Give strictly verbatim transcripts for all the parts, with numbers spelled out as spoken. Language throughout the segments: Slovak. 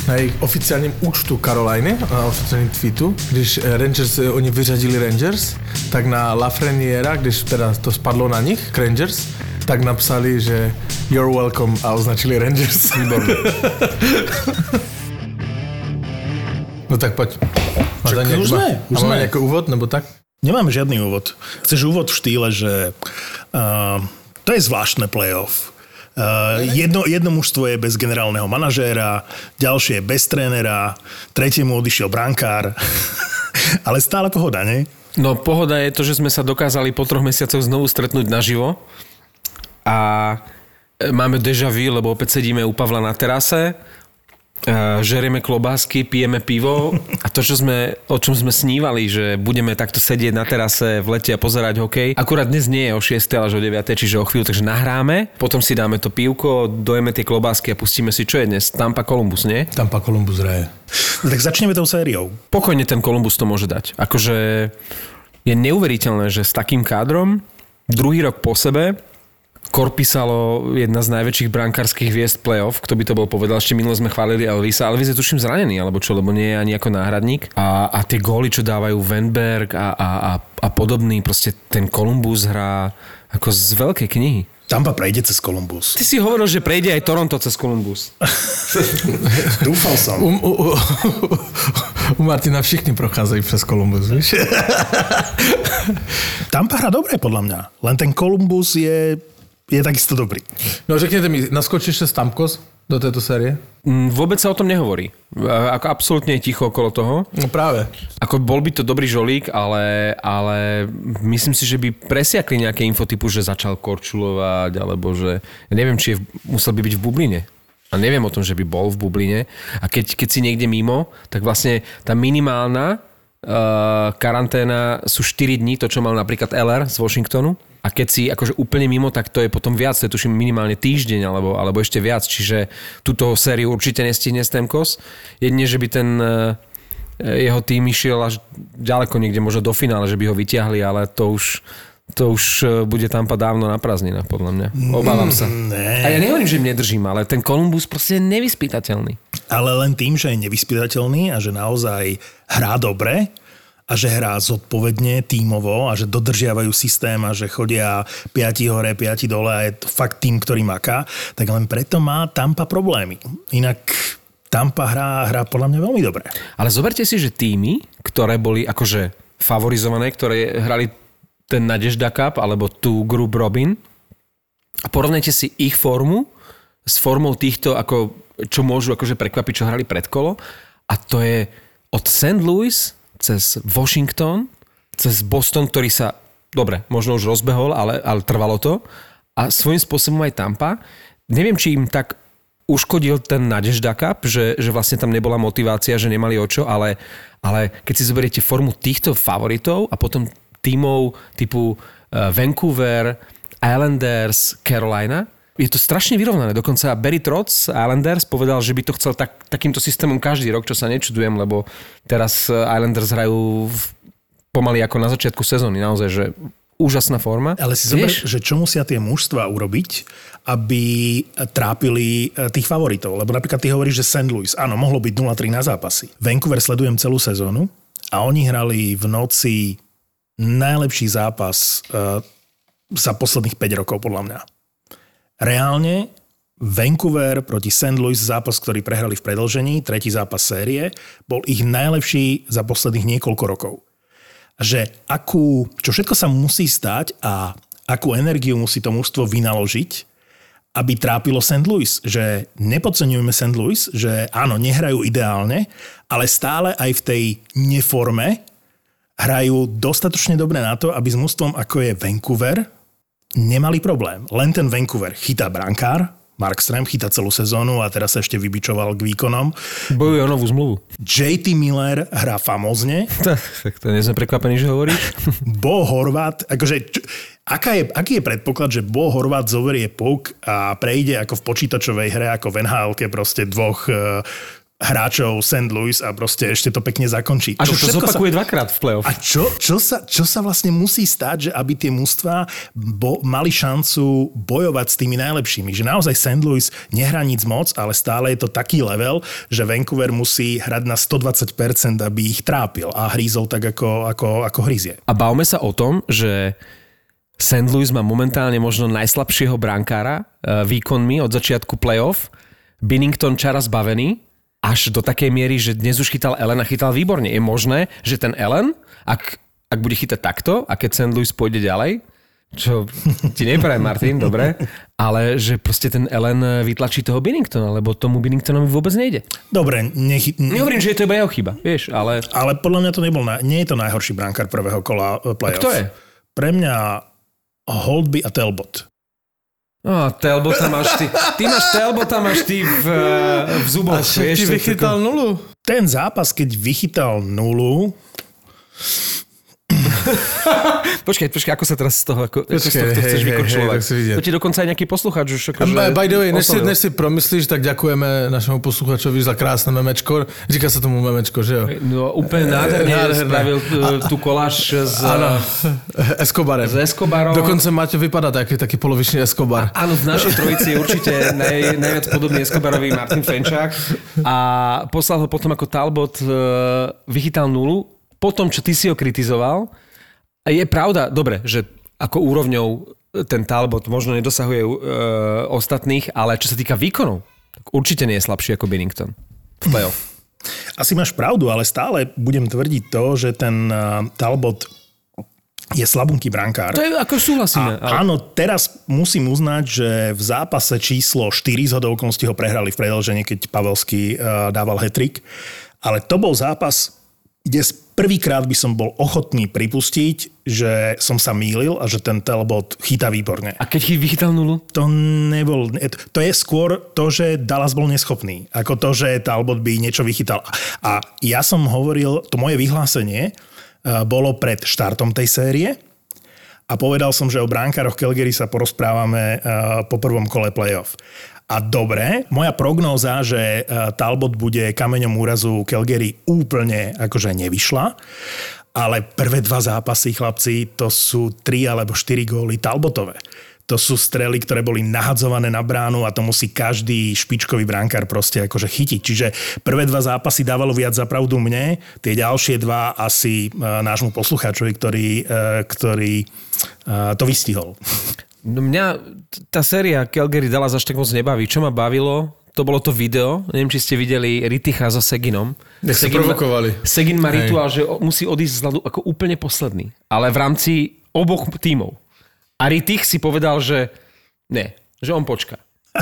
na jejich oficiálním účtu Caroliny, na oficiálním tweetu, když Rangers, oni vyřadili Rangers, tak na Lafreniera, když teda to spadlo na nich, Rangers, tak napsali, že you're welcome a označili Rangers. Výborné. No tak poď. Má Čak, nejaký, už sme, už má sme. nejaký úvod, nebo tak? Nemáme žiadny úvod. Chceš úvod v štýle, že uh, to je zvláštne playoff. Uh, jedno, jedno mužstvo je bez generálneho manažéra, ďalšie je bez trénera, tretiemu odišiel brankár. Ale stále pohoda, nie? No pohoda je to, že sme sa dokázali po troch mesiacoch znovu stretnúť naživo. A máme déjà vu, lebo opäť sedíme u Pavla na terase, žerieme klobásky, pijeme pivo a to, čo sme, o čom sme snívali, že budeme takto sedieť na terase v lete a pozerať hokej. Akurát dnes nie je o šiestej, ale o deviatej, čiže o chvíľu, takže nahráme, potom si dáme to pivko, dojeme tie klobásky a pustíme si, čo je dnes. Tampa Columbus, nie? Tampa Columbus hraje. No, tak začneme tou sériou. Pokojne ten Columbus to môže dať. Akože je neuveriteľné, že s takým kádrom druhý rok po sebe Korpisalo, jedna z najväčších brankárskych hviezd playoff, kto by to bol povedal, ešte minule sme chválili Elvisa. Elvis je tuším zranený, alebo čo, lebo nie je ani ako náhradník. A, a tie góly, čo dávajú Wenberg a, a, a, a podobný, proste ten Columbus hrá ako z veľkej knihy. Tampa prejde cez Columbus. Ty si hovoril, že prejde aj Toronto cez Columbus. Dúfal som. U, u, u, u Martina všichni procházajú přes Columbus, víš? Tampa hrá dobre, podľa mňa. Len ten Columbus je, je takisto dobrý. No řekněte mi, naskočíš se Stamkos do této série? Vôbec sa o tom nehovorí. Ako absolútne je ticho okolo toho. No práve. Ako bol by to dobrý žolík, ale, ale myslím si, že by presiakli nejaké infotypu, že začal korčulovať, alebo že... Ja neviem, či je, musel by byť v bubline. A neviem o tom, že by bol v bubline. A keď, keď si niekde mimo, tak vlastne tá minimálna uh, karanténa sú štyri dní, to čo mal napríklad el er z Washingtonu. A keď si akože úplne mimo, tak to je potom viac, to je tuším minimálne týždeň alebo, alebo ešte viac. Čiže túto sériu určite nestihne Stamkos. Jedine, že by ten jeho tým išiel až ďaleko niekde, možno do finále, že by ho vyťahli, ale to už, to už bude Tampa dávno na prázdninách, podľa mňa. Obávam sa. Ne. A ja nehovorím, že im nedržím, ale ten Columbus proste je nevyspytateľný. Ale len tým, že je nevyspytateľný a že naozaj hrá dobre, a že hrá zodpovedne, tímovo a že dodržiavajú systém a že chodia piati hore, piati dole a je to fakt tým, ktorý maká, tak len preto má Tampa problémy. Inak Tampa hrá, hrá podľa mňa veľmi dobre. Ale zoberte si, že týmy, ktoré boli akože favorizované, ktoré hrali ten Nadežda Cup alebo tú Group Robin a porovnajte si ich formu s formou týchto, ako, čo môžu akože prekvapiť, čo hrali predkolo a to je od Saint Louis cez Washington, cez Boston, ktorý sa, dobre, možno už rozbehol, ale, ale trvalo to. A svojím spôsobom aj Tampa. Neviem, či im tak uškodil ten Nadežda Cup, že, že vlastne tam nebola motivácia, že nemali o čo, ale, ale keď si zoberiete formu týchto favoritov a potom tímov typu Vancouver, Islanders, Carolina, je to strašne vyrovnané. Dokonca Barry Trotz, Islanders, povedal, že by to chcel tak, takýmto systémom každý rok, čo sa nečudujem, lebo teraz Islanders hrajú v, pomaly ako na začiatku sezóny. Naozaj, že úžasná forma. Ale si zober, že čo musia tie mužstva urobiť, aby trápili tých favoritov. Lebo napríklad ty hovoríš, že Saint Louis, áno, mohlo byť nula tri na zápasy. Vancouver sledujem celú sezónu a oni hrali v noci najlepší zápas uh, za posledných päť rokov, podľa mňa. Reálne Vancouver proti Saint Louis, zápas, ktorý prehrali v predĺžení, tretí zápas série, bol ich najlepší za posledných niekoľko rokov. Že akú, čo všetko sa musí stať a akú energiu musí to mužstvo vynaložiť, aby trápilo Saint Louis. Že nepodceňujeme Saint Louis, že áno, nehrajú ideálne, ale stále aj v tej neforme hrajú dostatočne dobre na to, aby s mužstvom ako je Vancouver nemali problém. Len ten Vancouver chytá brankár, Markström chytá celú sezónu a teraz sa ešte vybičoval k výkonom. Bojuje o novú zmluvu. jé té Miller hrá famózne. Tak to nie sme prekvapení, že hovoríš. Bo Horvat, akože, čo, aká je, aký je predpoklad, že Bo Horvat zoberie puk a prejde ako v počítačovej hre, ako v en há elke proste dvoch hráčov Saint Louis a proste ešte to pekne zakončí. A to že to zopakuje sa... dvakrát v play-off. A čo, čo, sa, čo sa vlastne musí stať, že aby tie mužstvá bo, mali šancu bojovať s tými najlepšími? Že naozaj Saint Louis nehrá nic moc, ale stále je to taký level, že Vancouver musí hrať na stodvadsať percent, aby ich trápil a hrízol tak, ako, ako, ako hryzie. A bavme sa o tom, že Saint Louis má momentálne možno najslabšieho brankára výkonmi od začiatku play-off. Binnington čara zbavený. Až do takej miery, že dnes už chytal Allen a chytal výborne. Je možné, že ten Allen, ak, ak bude chytať takto a keď Saint Louis pôjde ďalej, čo ti neprajem, Martin, dobre, ale že proste ten Allen vytlačí toho Binningtona, lebo tomu Binningtonovi vôbec nejde. Dobre, nechy... Nehovorím, že je to iba jeho chyba, vieš, ale... Ale podľa mňa to nebol, na... nie je to najhorší brankár prvého kola play-off. A kto je? Pre mňa Holtby a Talbot. No, Talbota máš ty. Ty máš Talbota máš ty v, v zuboch. A však ti vychytal nulu. Ten zápas, keď vychytal nulu... počkaj, počkaj, ako sa teraz z toho, ako, počkej, ako z toho chceš hej, vykorčulovať? Hej, to ti dokonca aj nejaký posluchač už akože... By the way, než si, než si promyslíš, tak ďakujeme našemu posluchačovi za krásne memečko. Říká sa tomu memečko, že jo? No úplne nádherne spravil tú koláž s... Áno, Escobarem. S Escobarom. Dokonca Maťo vypadá taký, taký polovičný Escobar. A, áno, v našej trojici je určite naj, najviac podobný Escobarový Martin Fenčák. A poslal ho potom ako Talbot, vychytal nulu. Potom, čo ty si ho kritizoval, je pravda, dobre, že ako úrovňou ten Talbot možno nedosahuje e, ostatných, ale čo sa týka výkonov, tak určite nie je slabší ako Binnington v play-off. Asi máš pravdu, ale stále budem tvrdiť to, že ten uh, Talbot je slabunky brankár. To je ako súhlasíme. Ale... Áno, teraz musím uznať, že v zápase číslo štyri z hodou okolností ho prehrali v predĺžení, keď Pavelský uh, dával hat-trick, ale to bol zápas, kde prvýkrát by som bol ochotný pripustiť, že som sa mýlil a že ten Talbot chytá výborne. A keď vychytal nulu? To nebol... To je skôr to, že Dallas bol neschopný, ako to, že Talbot by niečo vychytal. A ja som hovoril, to moje vyhlásenie bolo pred štartom tej série a povedal som, že o bránkároch Calgary sa porozprávame po prvom kole playoff. A dobre, moja prognóza, že Talbot bude kameňom úrazu Calgary úplne akože nevyšla, ale prvé dva zápasy, chlapci, to sú tri alebo štyri góly Talbotové. To sú strely, ktoré boli nahadzované na bránu a to musí každý špičkový brankár proste akože chytiť. Čiže prvé dva zápasy dávalo viac za pravdu mne, tie ďalšie dva asi nášmu poslucháčovi, ktorý, ktorý to vystihol. No mňa tá séria Calgary Dallas až tak moc nebaví. Čo ma bavilo, to bolo to video. Neviem, či ste videli Ritticha so Seginom. Nech sa provokovali. Segin má rituál, že musí odísť z ľadu ako úplne posledný. Ale v rámci oboch tímov. A Rittich si povedal, že ne, že on počká.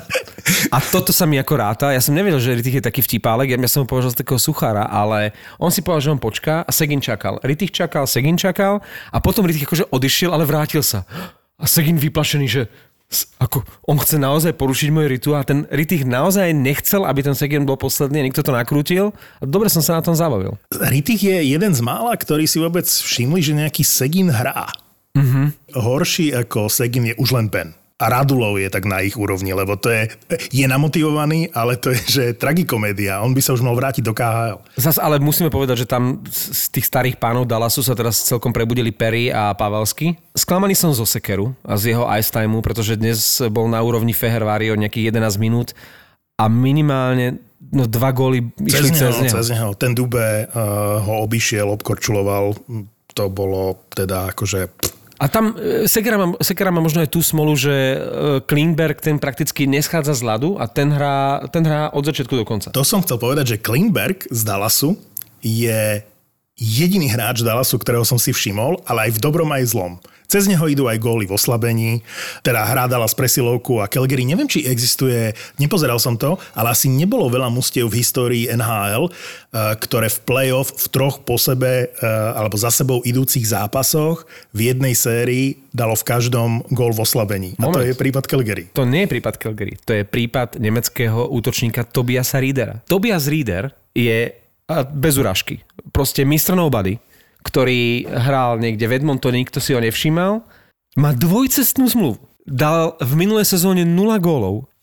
A toto sa mi ako ráta. Ja som nevedel, že Rittich je taký vtipálek. Ja som ho považoval za takého suchára, ale on si povedal, že on počká a Segin čakal. Rittich čakal, Segin čakal a potom Rittich akože odišiel, ale vrátil sa. A Segin vyplašený, že ako on chce naozaj porušiť môj rituál. A ten Rittich naozaj nechcel, aby ten Segin bol posledný. Niekto to nakrútil. A dobre som sa na tom zabavil. Rittich je jeden z mála, ktorí si vôbec všimli, že nejaký Segin hrá. Mm-hmm. Horší ako Segin je už len Ben. A Radulov je tak na ich úrovni, lebo to je, je namotivovaný, ale to je, že je tragikomédia. On by sa už mal vrátiť do ká há el. Zas ale musíme povedať, že tam z tých starých pánov Dallasu sa teraz celkom prebudili Perry a Pavelský. Sklamaný som zo Sekeru a z jeho ice timeu, pretože dnes bol na úrovni Fehervári od nejakých jedenásť minút a minimálne no, dva góly išli cez, cez neho. Cez neho. Ten Dube uh, ho obišiel, obkorčuloval. To bolo teda akože... A tam Sekera má, Sekera má možno aj tú smolu, že Klingberg ten prakticky neschádza z ľadu a ten hrá, ten hrá od začiatku do konca. To som chcel povedať, že Klingberg z Dallasu je jediný hráč Dallasu, ktorého som si všimol, ale aj v dobrom, aj v zlom. Cez neho idú aj góly v oslabení, teda hrá Dallas presilovku a Calgary. Neviem, či existuje, nepozeral som to, ale asi nebolo veľa mustiev v histórii en há el, ktoré v play-off v troch po sebe alebo za sebou idúcich zápasoch v jednej sérii dalo v každom gól v oslabení. A Moment. To je prípad Calgary. To nie je prípad Calgary, to je prípad nemeckého útočníka Tobiasa Riedera. Tobias Rieder je bez urážky, proste mister Nobody, ktorý hral niekde v Edmontone, nikto si ho nevšímal, má dvojcestnú zmluvu. Dal v minulej sezóne nula gólov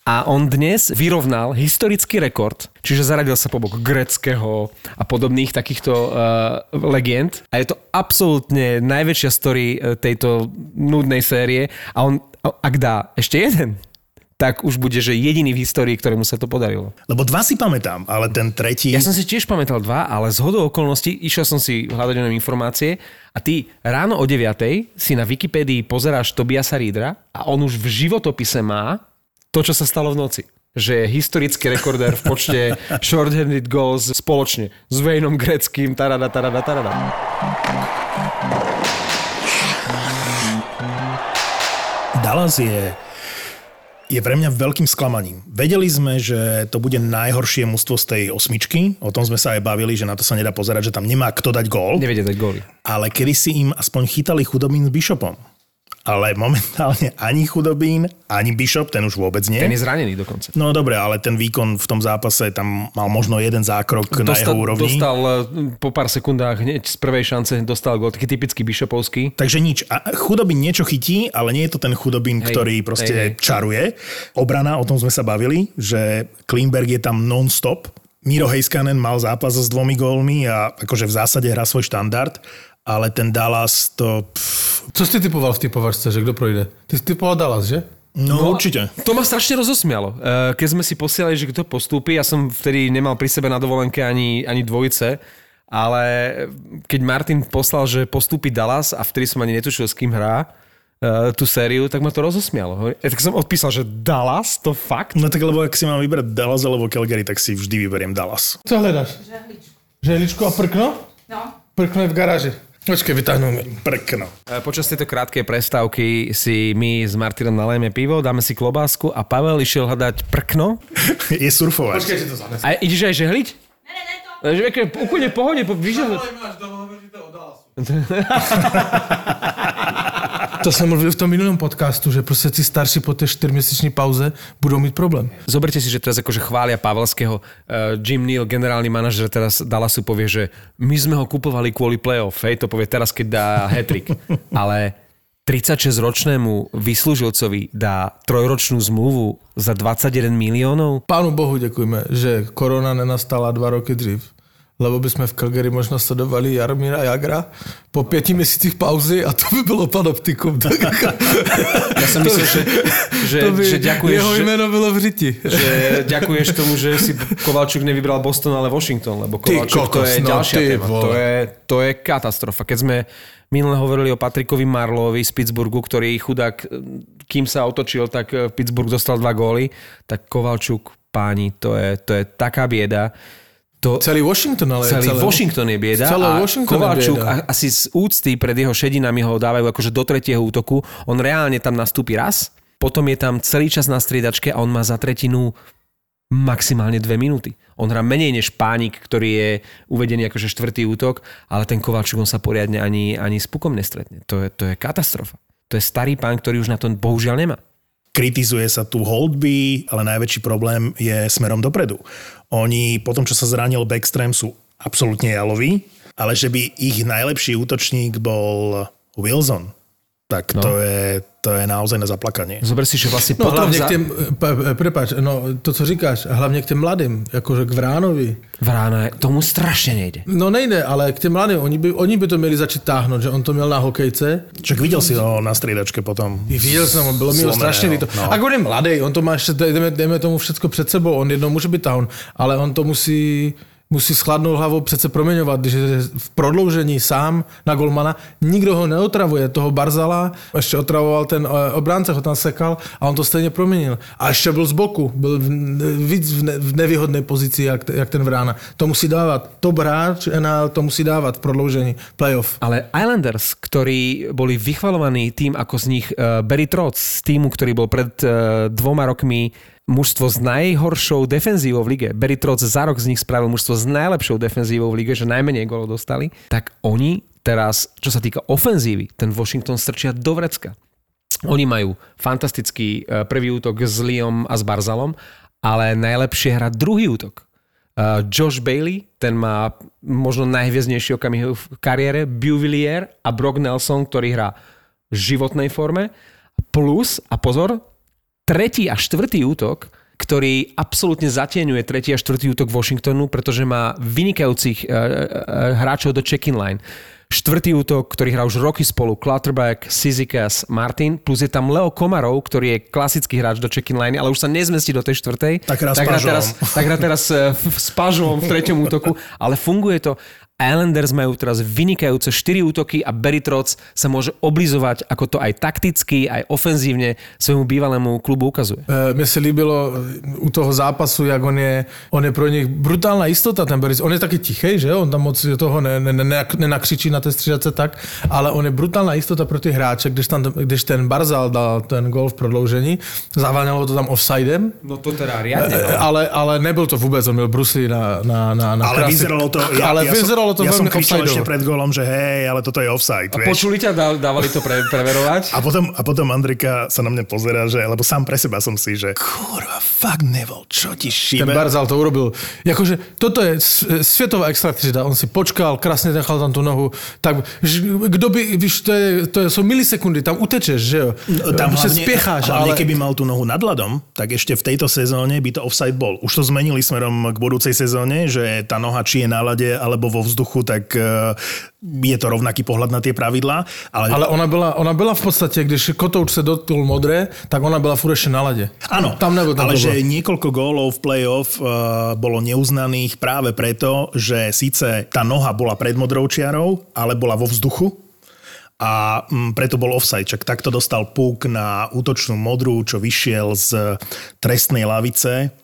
A on dnes vyrovnal historický rekord, čiže zaradil sa po bok gréckeho a podobných takýchto uh, legend. A je to absolútne najväčšia story tejto nudnej série. A on, ak dá ešte jeden, tak už bude, že jediný v histórii, ktorému sa to podarilo. Lebo dva si pamätám, ale ten tretí... Ja som si tiež pamätal dva, ale z hodou okolností išiel som si hľadať o informácie a ty ráno o deviatej si na Wikipédii pozeráš Tobiasa Reedera a on už v životopise má to, čo sa stalo v noci. Že je historický rekordér v počte short-handed goals spoločne s Wayneom Gretzkym, tarada, tarada, tarada. Dallas je, je pre mňa veľkým sklamaním. Vedeli sme, že to bude najhoršie mužstvo z tej osmičky. O tom sme sa aj bavili, že na to sa nedá pozerať, že tam nemá kto dať gól. Nevedia dať góly. Ale kedy si im aspoň chytali Chudobín s Bishopom. Ale momentálne ani Chudobín, ani Bishop, ten už vôbec nie. Ten je zranený dokonca. No dobre, ale ten výkon v tom zápase, tam mal možno jeden zákrok dostal, na jeho úrovni. Dostal po pár sekundách hneď z prvej šance dostal gól, taký typický Bishopovský. Takže nič. A Chudobín niečo chytí, ale nie je to ten Chudobín, hej, ktorý proste hej, hej. čaruje. Obrana, o tom sme sa bavili, že Klingberg je tam non-stop. Miro Heiskanen mal zápas s dvomi gólmi a akože v zásade hrá svoj štandard. Ale ten Dallas to... Pff. Co jsi typoval v typovačce, že kdo projde? Ty jsi typoval Dallas, že? No, no určite. To ma strašne rozosmialo. Keď sme si posielali, že kto postúpi, ja som vtedy nemal pri sebe na dovolenke ani, ani dvojice, ale keď Martin poslal, že postúpi Dallas a vtedy som ani netušil, s kým hrá tú sériu, tak ma to rozosmialo. Ja tak som odpísal, že Dallas? To fakt? No tak lebo ak si mám vybrať Dallas alebo Calgary, tak si vždy vyberiem Dallas. Co hledáš? Žehličku. Žehličku a prkno? No. Prkno je v garáži. Počkej, vytáhnu mi. Prkno. Počas tejto krátkej prestávky si my s Martinom nalejeme pivo, dáme si klobásku a Pavel išiel hľadať prkno. Je surfovať. Počkej, si to zanes. A ideš aj žehliť? Ne, ne, ne to. Úplne v pohode. Vyžehliť. To jsem mluvil v tom minulém podcastu, že prostě tí starší po té čtyřměsíční pauze budou mít problém. Zoberte si, že teraz akože chvália Pavelského. Uh, Jim Neal, generálny manažer teraz Dallasu povie, že my sme ho kupovali kvôli playoff. Hej, to povie teraz, keď dá hat-trick. Ale tridsaťšesťročnému vyslúžilcovi dá trojročnú zmluvu za dvadsaťjeden miliónov? Pánu Bohu děkujeme, že korona nenastala dva roky dřív. Lebo by sme v Calgary možno sledovali Jaromíra Jagra po pieti měsících pauzy a to by bylo panoptikum. Ja som myslel, že, že, by že ďakuješ, jeho jméno bylo v řiti. Že ďakuješ tomu, že si Kovalčuk nevybral Boston, ale Washington, lebo Kovalčuk kokos, to je no, ďalšia téma. To je, to je katastrofa. Keď sme minule hovorili o Patrickovi Marlowovi z Pittsburghu, ktorý chudák, kým sa otočil, tak Pittsburgh dostal dva góly, tak Kovalčuk, páni, to je, to je taká bieda. To, celý Washington, ale celý celé, Washington je bieda a Kovalčuk asi z úcty pred jeho šedinami ho dávajú akože do tretieho útoku. On reálne tam nastúpi raz, potom je tam celý čas na striedačke a on má za tretinu maximálne dve minúty. On hrá menej než Pánik, ktorý je uvedený akože štvrtý útok, ale ten Kovalčuk on sa poriadne ani, ani s pukom nestretne. To je, to je katastrofa. To je starý pán, ktorý už na to bohužiaľ nemá. Kritizuje sa tu Holtby, ale najväčší problém je smerom dopredu. Oni po tom, čo sa zranil Backstrom, sú absolútne jaloví, ale že by ich najlepší útočník bol Wilson, tak no. to, je, to je naozaj na zaplakanie. Zober si, že vlastne no, potom... hlavne za... k tým, prepáč, no to, co říkáš, hlavne k tým mladým, akože k Vránovi. Vrána, tomu strašne nejde. No nejde, ale k tým mladým, oni by, oni by to měli začít táhnout, že on to měl na hokejce. Čak videl si ho na striedačke potom. Viděl jsem ho, bylo mi to strašně líto. No. A on je mladý, on to má ještě, jdeme, jdeme tomu všecko před sebou, on jednou může být tahon, ale on to musí... musí s chladnou hlavou přece proměňovat, když je v prodloužení sám na golmana. Nikdo ho neotravuje, toho Barzala, ještě otravoval ten obránce, ho tam sekal a on to stejně proměnil. A ještě byl z boku, byl víc v nevýhodné pozici, jak, jak ten Vrána. To musí dávat. Top hráč en há el to musí dávat v prodloužení playoff. Ale Islanders, ktorí boli vychvalovaní tým, ako z nich uh, Barry Trotz, z týmu, ktorý bol pred uh, dvoma rokmi mužstvo s najhoršou defenzívou v lige. Barry Trotz za rok z nich spravil mužstvo s najlepšou defenzívou v lige, že najmenej gólov dostali. Tak oni teraz, čo sa týka ofenzívy, ten Washington strčia do vrecka. Oni majú fantastický prvý útok s Leom a s Barzalom, ale najlepšie hrá druhý útok. Josh Bailey, ten má možno najhviezdnejší okamih v kariére, Beauvillier a Brock Nelson, ktorý hrá v životnej forme. Plus, a pozor, tretí a štvrtý útok, ktorý absolútne zatieňuje tretí a štvrtý útok Washingtonu, pretože má vynikajúcich uh, uh, hráčov do check-in line. Štvrtý útok, ktorý hrá už roky spolu, Clutterback, Cizikas, Martin, plus je tam Leo Komarov, ktorý je klasický hráč do check-in line, ale už sa nezmestí do tej štvrtej. Tak hrá tak teraz, tak hrá teraz s Pažom v treťom útoku, ale funguje to. Islanders majú teraz vynikajúce štyri útoky a Barry Trotz sa môže oblizovať, ako to aj takticky, aj ofenzívne svojmu bývalému klubu ukazuje. E, mne sa líbilo u toho zápasu, jak on je, on je pro nich brutálna istota, ten Barry. On je taký tichej, že on tam moc toho nenakřičí na té střídace tak, ale on je brutálna istota pro ty hráče, když, tam, když ten Barzal dal ten gól v prodloužení, zaváňalo to tam offsidem. No to teda riadne. E, ale, ale nebyl to vůbec, on měl brusli na, na, na, na ale vyzeralo to, ja, ale ja vyzeralo som, to ja som veľmi kričal offsideovo. ešte pred gólom, že hej, ale toto je offside. A počuli ťa, dávali to pre, preverovať? A potom, a potom Andrika sa na mňa pozerá, že, lebo sám pre seba som si, že kurva, fakt Neville, čo ti šíbe? Ten Barzal to urobil. Jakože, toto je svetová extra třída. On si počkal, krásne nechal tam tú nohu. Tak, kdo by, víš, to, je, to je, sú milisekundy, tam utečeš, že jo? Tam hlavne, spiecháš, hlavne ale... keby mal tú nohu nad ľadom, tak ešte v tejto sezóne by to offside bol. Už to zmenili smerom k budúcej sezóne, že tá noha či je na ľade, alebo vo vzduchu, tak je to rovnaký pohľad na tie pravidlá. Ale, ale ona, byla, ona byla v podstate, když Kotouč sa dotknul modré, tak ona byla furt ešte na lade. Áno, tam nebol, tam ale že bolo. Niekoľko gólov v play-off uh, bolo neuznaných práve preto, že síce tá noha bola pred modrou čiarou, ale bola vo vzduchu a um, preto bol offside. Čak takto dostal puk na útočnú modrú, čo vyšiel z trestnej lavice.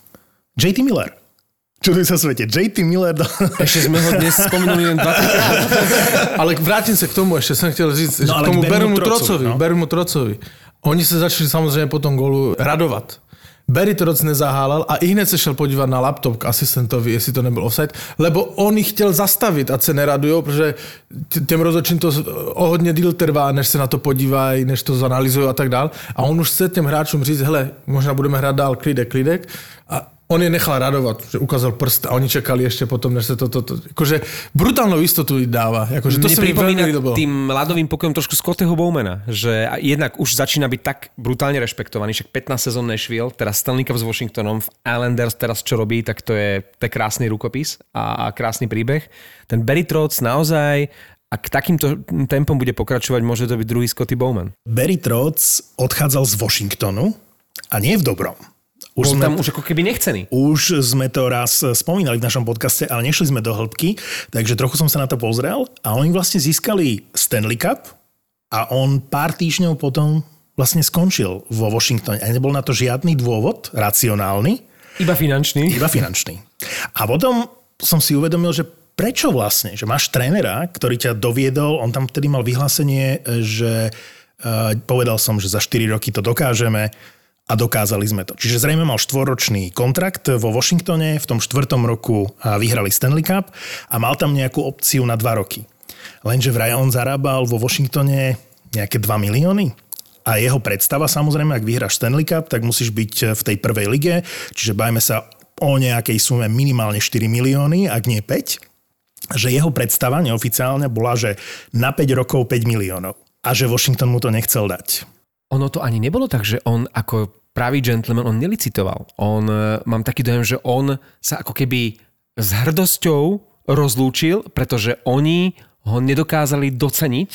J T Miller. Čuduj sa svete. J T Miller... Do... Ešte sme ho dnes spomenuli len dvakrát. Ale vrátim sa k tomu, ešte som chcel říct, no, že k tomu Bermu Trocovi. No? Bermu Trocovi. Oni sa začali samozrejme po tom gólu radovať. Barry Trotz nezahálal a i hned se šel podívat na laptop k asistentovi, jestli to nebyl offside, lebo on ich chtěl zastavit, ať se neradujou, protože těm rozhodčím to o hodně díl trvá, než se na to podívají, než to zanalizují a tak dál. A on už chce těm hráčům říct, hele, možná budeme hrát dál, klidek, klidek. A on je nechal radovať, že ukázal prst a oni čekali ešte potom, než sa to... to, to akože brutálnu istotu dáva. Akože to mne sa mi pripomína ľúbilo. tým ľadovým pokojom trošku Scottyho Bowmana, že jednak už začína byť tak brutálne rešpektovaný, však pätnásťsezónny Nashville, teraz Stanley Cup s Washingtonom, v Islanders teraz čo robí, tak to je, to je krásny rukopis a, a krásny príbeh. Ten Barry Trotz naozaj, ak takýmto tempom bude pokračovať, môže to byť druhý Scotty Bowman. Barry Trotz odchádzal z Washingtonu a nie v dobrom. Už Bol tam už ako keby nechcený. Už sme to raz spomínali v našom podcaste, ale nešli sme do hĺbky, takže trochu som sa na to pozrel a oni vlastne získali Stanley Cup a on pár týždňov potom vlastne skončil vo Washingtone. A nebol na to žiadny dôvod racionálny. Iba finančný. Iba finančný. A potom som si uvedomil, že prečo vlastne, že máš trénera, ktorý ťa doviedol, on tam vtedy mal vyhlásenie, že uh, povedal som, že za štyri roky to dokážeme. A dokázali sme to. Čiže zrejme mal štvoročný kontrakt vo Washingtone, v tom štvrtom roku vyhrali Stanley Cup a mal tam nejakú opciu na dva roky. Lenže vraj on zarábal vo Washingtone nejaké dva milióny. A jeho predstava, samozrejme, ak vyhráš Stanley Cup, tak musíš byť v tej prvej lige, čiže bajme sa o nejakej sume minimálne štyri milióny, ak nie päť. Že jeho predstava neoficiálne bola, že na päť rokov päť miliónov. A že Washington mu to nechcel dať. Ono to ani nebolo tak, že on ako pravý gentleman, on nelicitoval. On, mám taký dojem, že on sa ako keby s hrdosťou rozlúčil, pretože oni ho nedokázali doceniť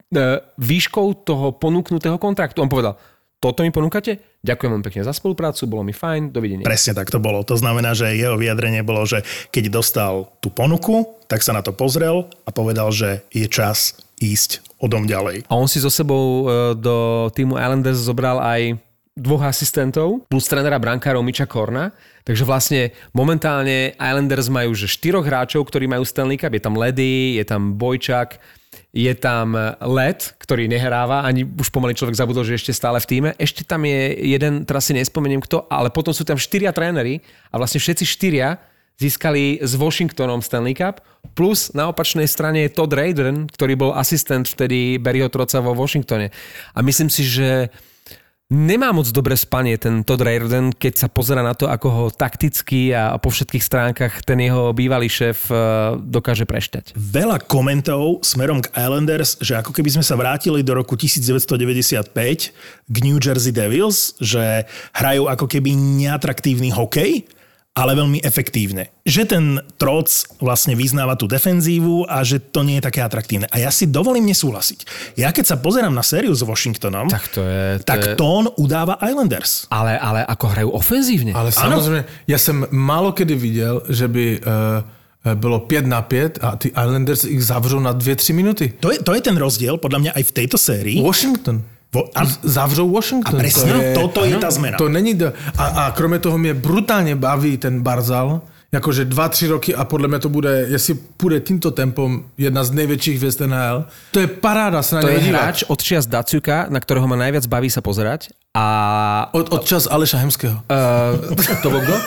výškou toho ponúknutého kontraktu. On povedal, toto mi ponúkate? Ďakujem vám pekne za spoluprácu, bolo mi fajn, dovidenia. Presne tak to bolo. To znamená, že jeho vyjadrenie bolo, že keď dostal tú ponuku, tak sa na to pozrel a povedal, že je čas ísť odom ďalej. A on si so sebou do týmu Islanders zobral aj dvoch asistentov plus trénera brankárov Mitcha Korna. Takže vlastne momentálne Islanders majú že štyroch hráčov, ktorí majú Stanley Cup. Je tam Ledy, je tam Bojčak, je tam Led, ktorý nehráva, ani už pomaly človek zabudol, že ešte stále v tíme. Ešte tam je jeden, teraz si nespomeniem kto, ale potom sú tam štyria tréneri a vlastne všetci štyria získali s Washingtonom Stanley Cup, plus na opačnej strane je Todd Reirden, ktorý bol asistent vtedy Barryho Trotza vo Washingtone. A myslím si, že nemá moc dobré spanie ten Todd Reirden, keď sa pozerá na to, ako ho takticky a po všetkých stránkach ten jeho bývalý šéf dokáže prešťať. Veľa komentov smerom k Islanders, že ako keby sme sa vrátili do roku devätnásťstodeväťdesiatpäť k New Jersey Devils, že hrajú ako keby neatraktívny hokej, ale veľmi efektívne. Že ten Troc vlastne vyznáva tú defenzívu a že to nie je také atraktívne. A ja si dovolím nesúhlasiť. Ja keď sa pozerám na sériu s Washingtonom, tak, to je, to tak je... tón udáva Islanders. Ale, ale ako hrajú ofenzívne. Ale samozřejmě, ja som málo kedy videl, že by uh, bylo päť na päť a ty Islanders ich zavřou na dve tři minuty. To je, to je ten rozdiel, podľa mňa aj v tejto sérii. Washington. Vo, a, zavřou Washington. A presne, to je, toto je tá zmena. To není... Do, a, a kromě toho mě brutálně baví ten Barzal, jakože dva, tři roky a podle mě to bude, jestli půjde tímto tempom, jedna z největších hvězd N H L. To je paráda sa na to neho je dívať. hráč od čias Daciuka, na ktorého ma najviac baví sa pozerať. A... Od, od čas Aleša Hemského. Uh, to bol kto?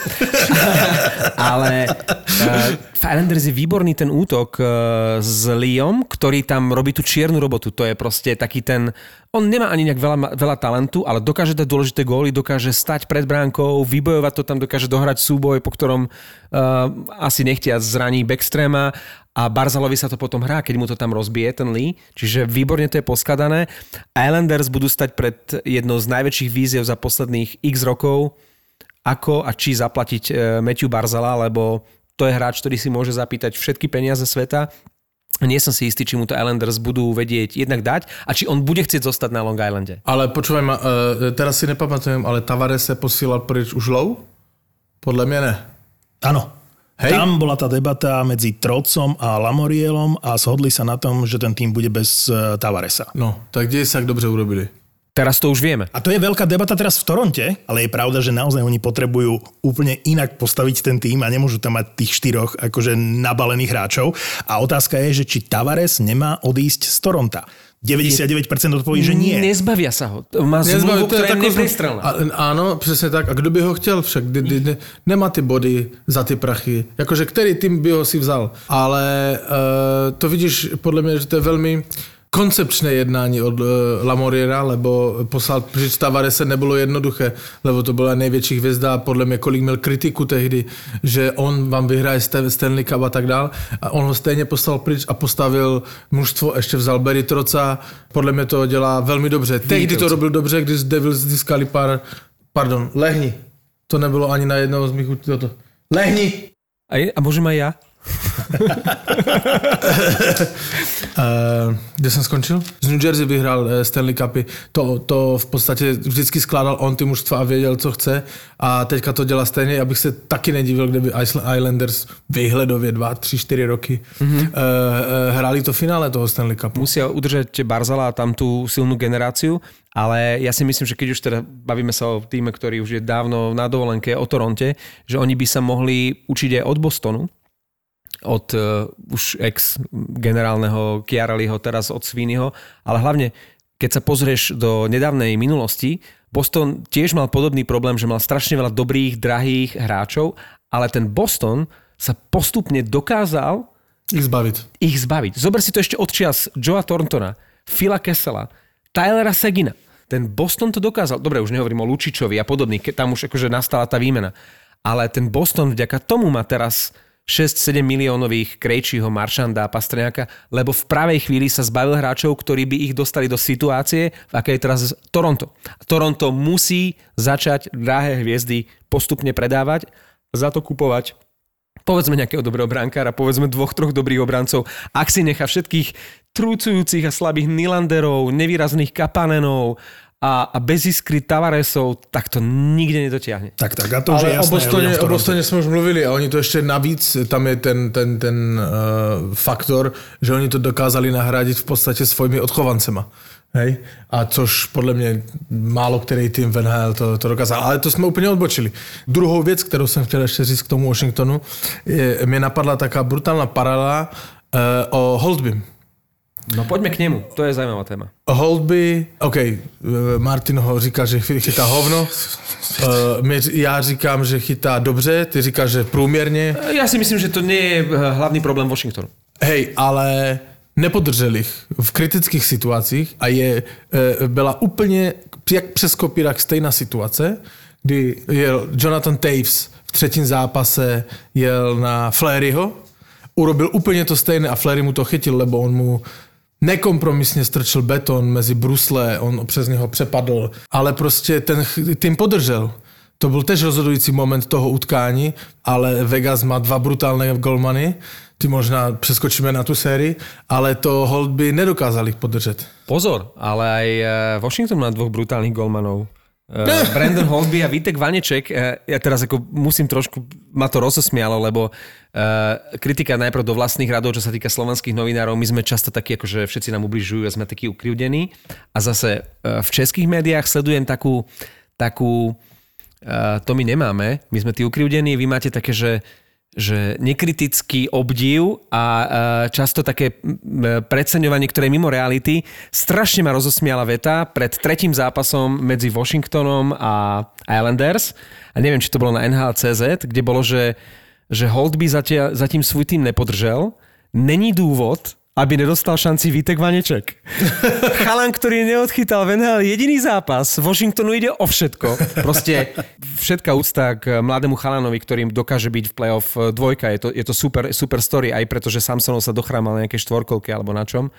Ale uh, v Islanders je výborný ten útok uh, s Leom, ktorý tam robí tú čiernu robotu. To je proste taký ten... On nemá ani nejak veľa, veľa talentu, ale dokáže dať dôležité góly, dokáže stať pred bránkou, vybojovať to tam, dokáže dohrať súboj, po ktorom uh, asi nechtia zraní Backstrema a Barzalovi sa to potom hrá, keď mu to tam rozbije, ten Lee. Čiže výborne to je poskladané. Islanders budú stať pred jednou z najväčších víziev za posledných x rokov, ako a či zaplatiť uh, Matthew Barzala, lebo to je hráč, ktorý si môže zapýtať všetky peniaze sveta. Nie som si istý, či mu to Islanders budú vedieť jednak dať a či on bude chcieť zostať na Long Islande. Ale počúvaj ma, uh, teraz si nepamatujem, ale Tavares sa posílal preč už low? Podľa mňa ne. Áno. Hej. Tam bola tá debata medzi Trotcom a Lamorielom a shodli sa na tom, že ten tým bude bez uh, Tavaresa. No, tak kde sa dobře urobili? Teraz to už vieme. A to je veľká debata teraz v Toronte, ale je pravda, že naozaj oni potrebujú úplne inak postaviť ten tým a nemôžu tam mať tých štyroch akože nabalených hráčov. A otázka je, že či Tavares nemá odísť z Toronta. deväťdesiatdeväť percent odpoví, že nie. Nezbavia sa ho. Má zmluvu, ktorá je neprestrelná. Áno, přesně tak. A kdo by ho chtěl však? De, de, de, nemá ty body za ty prachy. Jakože který tým by ho si vzal. Ale uh, to vidíš, podle mě, že to je velmi koncepčné jednání od uh, Lamoriera, lebo poslal pryč Tavarese nebylo jednoduché, lebo to byla největší hvězda a podle mě kolik měl kritiku tehdy, že on vám vyhraje Stanley Cup a tak dál. A on ho stejně poslal pryč a postavil mužstvo, ještě vzal Barry Troca. Podle mě to dělá velmi dobře. Tehdy to robil dobře, když Devils získali pár... Pardon, lehni. To nebylo ani na jednoho z mých... Toto. Lehni! A, a môžem aj ja? uh, kde jsem skončil? Z New Jersey vyhrál uh, Stanley Cupy. To, to v podstatě vždycky skládal on ty mužstva a věděl, co chce. A teďka to dělá stejně. Abych se taky nedivil, kdyby Islanders výhledově dva, tři, čtyři roky mm-hmm. uh, uh, hráli to finále toho Stanley Cupu. Musia udržať Barzala a tam tú silnú generáciu, ale ja si myslím, že keď už teda bavíme sa o týme, ktorý už je dávno na dovolenke, o Toronte, že oni by sa mohli učiť aj od Bostonu, od uh, už ex-generálneho Chiarelliho, teraz od Sweeneyho, ale hlavne, keď sa pozrieš do nedávnej minulosti, Boston tiež mal podobný problém, že mal strašne veľa dobrých, drahých hráčov, ale ten Boston sa postupne dokázal ich zbaviť. Ich zbaviť. Zober si to ešte od čias Joea Thorntona, Phila Kessela, Tylera Segina. Ten Boston to dokázal. Dobre, už nehovorím o Lučičovi a podobných, keď tam už akože nastala tá výmena. Ale ten Boston vďaka tomu má teraz šesť sedem miliónových Krejčího, Marchanda a Pastrňáka, lebo v pravej chvíli sa zbavil hráčov, ktorí by ich dostali do situácie, v akej je teraz Toronto. Toronto musí začať drahé hviezdy postupne predávať, za to kupovať povedzme nejakého dobrého brankára, povedzme dvoch, troch dobrých obrancov. Ak si nechá všetkých trúcujúcich a slabých Nylanderov, nevýrazných Kapanenov a, a bez iskry Tavaresov, tak to nikde nedotiahne. Tak, tak, a to už je jasné. O Bostone, o Bostone jsme už mluvili a oni to ještě navíc, tam je ten, ten, ten uh, faktor, že oni to dokázali nahradit v podstatě svojimi odchovancema. Hej? A což podle mě málo který tým v N H L to, to dokázal. Ale to jsme úplně odbočili. Druhou věc, kterou jsem chtěl ještě říct k tomu Washingtonu, je, mě napadla taká brutálna paralela uh, o Holtbym. No poďme k nemu, to je zajímavá téma. Holtby, OK, Martin ho říká, že chytá hovno. Já říkám, že chytá dobře, ty říkáš, že průměrně. Ja si myslím, že to nie je hlavný problém Washingtonu. Hej, ale nepodržel ich v kritických situacích a je, byla úplně jak přes kopírák stejná situace, kdy jel Jonathan Taves v třetím zápase, jel na Flairieho, urobil úplně to stejné a Fleury mu to chytil, lebo on mu nekompromisně strčil beton mezi brusle, on přes něho přepadl, ale prostě ten tým podržel. To byl tež rozhodující moment toho utkání, ale Vegas má dva brutálne golmany, ty možná přeskočíme na tú sérii, ale to hold by nedokázali podržet. Pozor, ale aj Washington má dvoch brutálnych golmanov. Uh, Brandon Holtby a Vítek Vaneček, uh, ja teraz ako musím trošku, ma to rozosmialo, lebo uh, kritika najprv do vlastných radov, čo sa týka slovenských novinárov, my sme často takí, akože všetci nám ubližujú a sme takí ukrivdení. A zase uh, v českých médiách sledujem takú, takú uh, to my nemáme, my sme tí ukrivdení, vy máte také, že že nekritický obdiv a často také preceňovanie, ktoré je mimo reality. Strašne ma rozosmiala veta pred tretím zápasom medzi Washingtonom a Islanders. A neviem, či to bolo na en há el bodka cé zet, kde bolo, že, že Holtby zatím, zatím svůj tým nepodržel. Není dôvod, aby nedostal šanci Vítek Vaneček. Chalan, ktorý neodchytal v en há el jediný zápas, Washingtonu ide o všetko. Proste všetká úcta k mladému Chalanovi, ktorým dokáže byť v playoff dvojka. Je to, je to super, super story, aj preto, že Samsonov sa dochrámal na nejaké štvorkolke alebo na čom.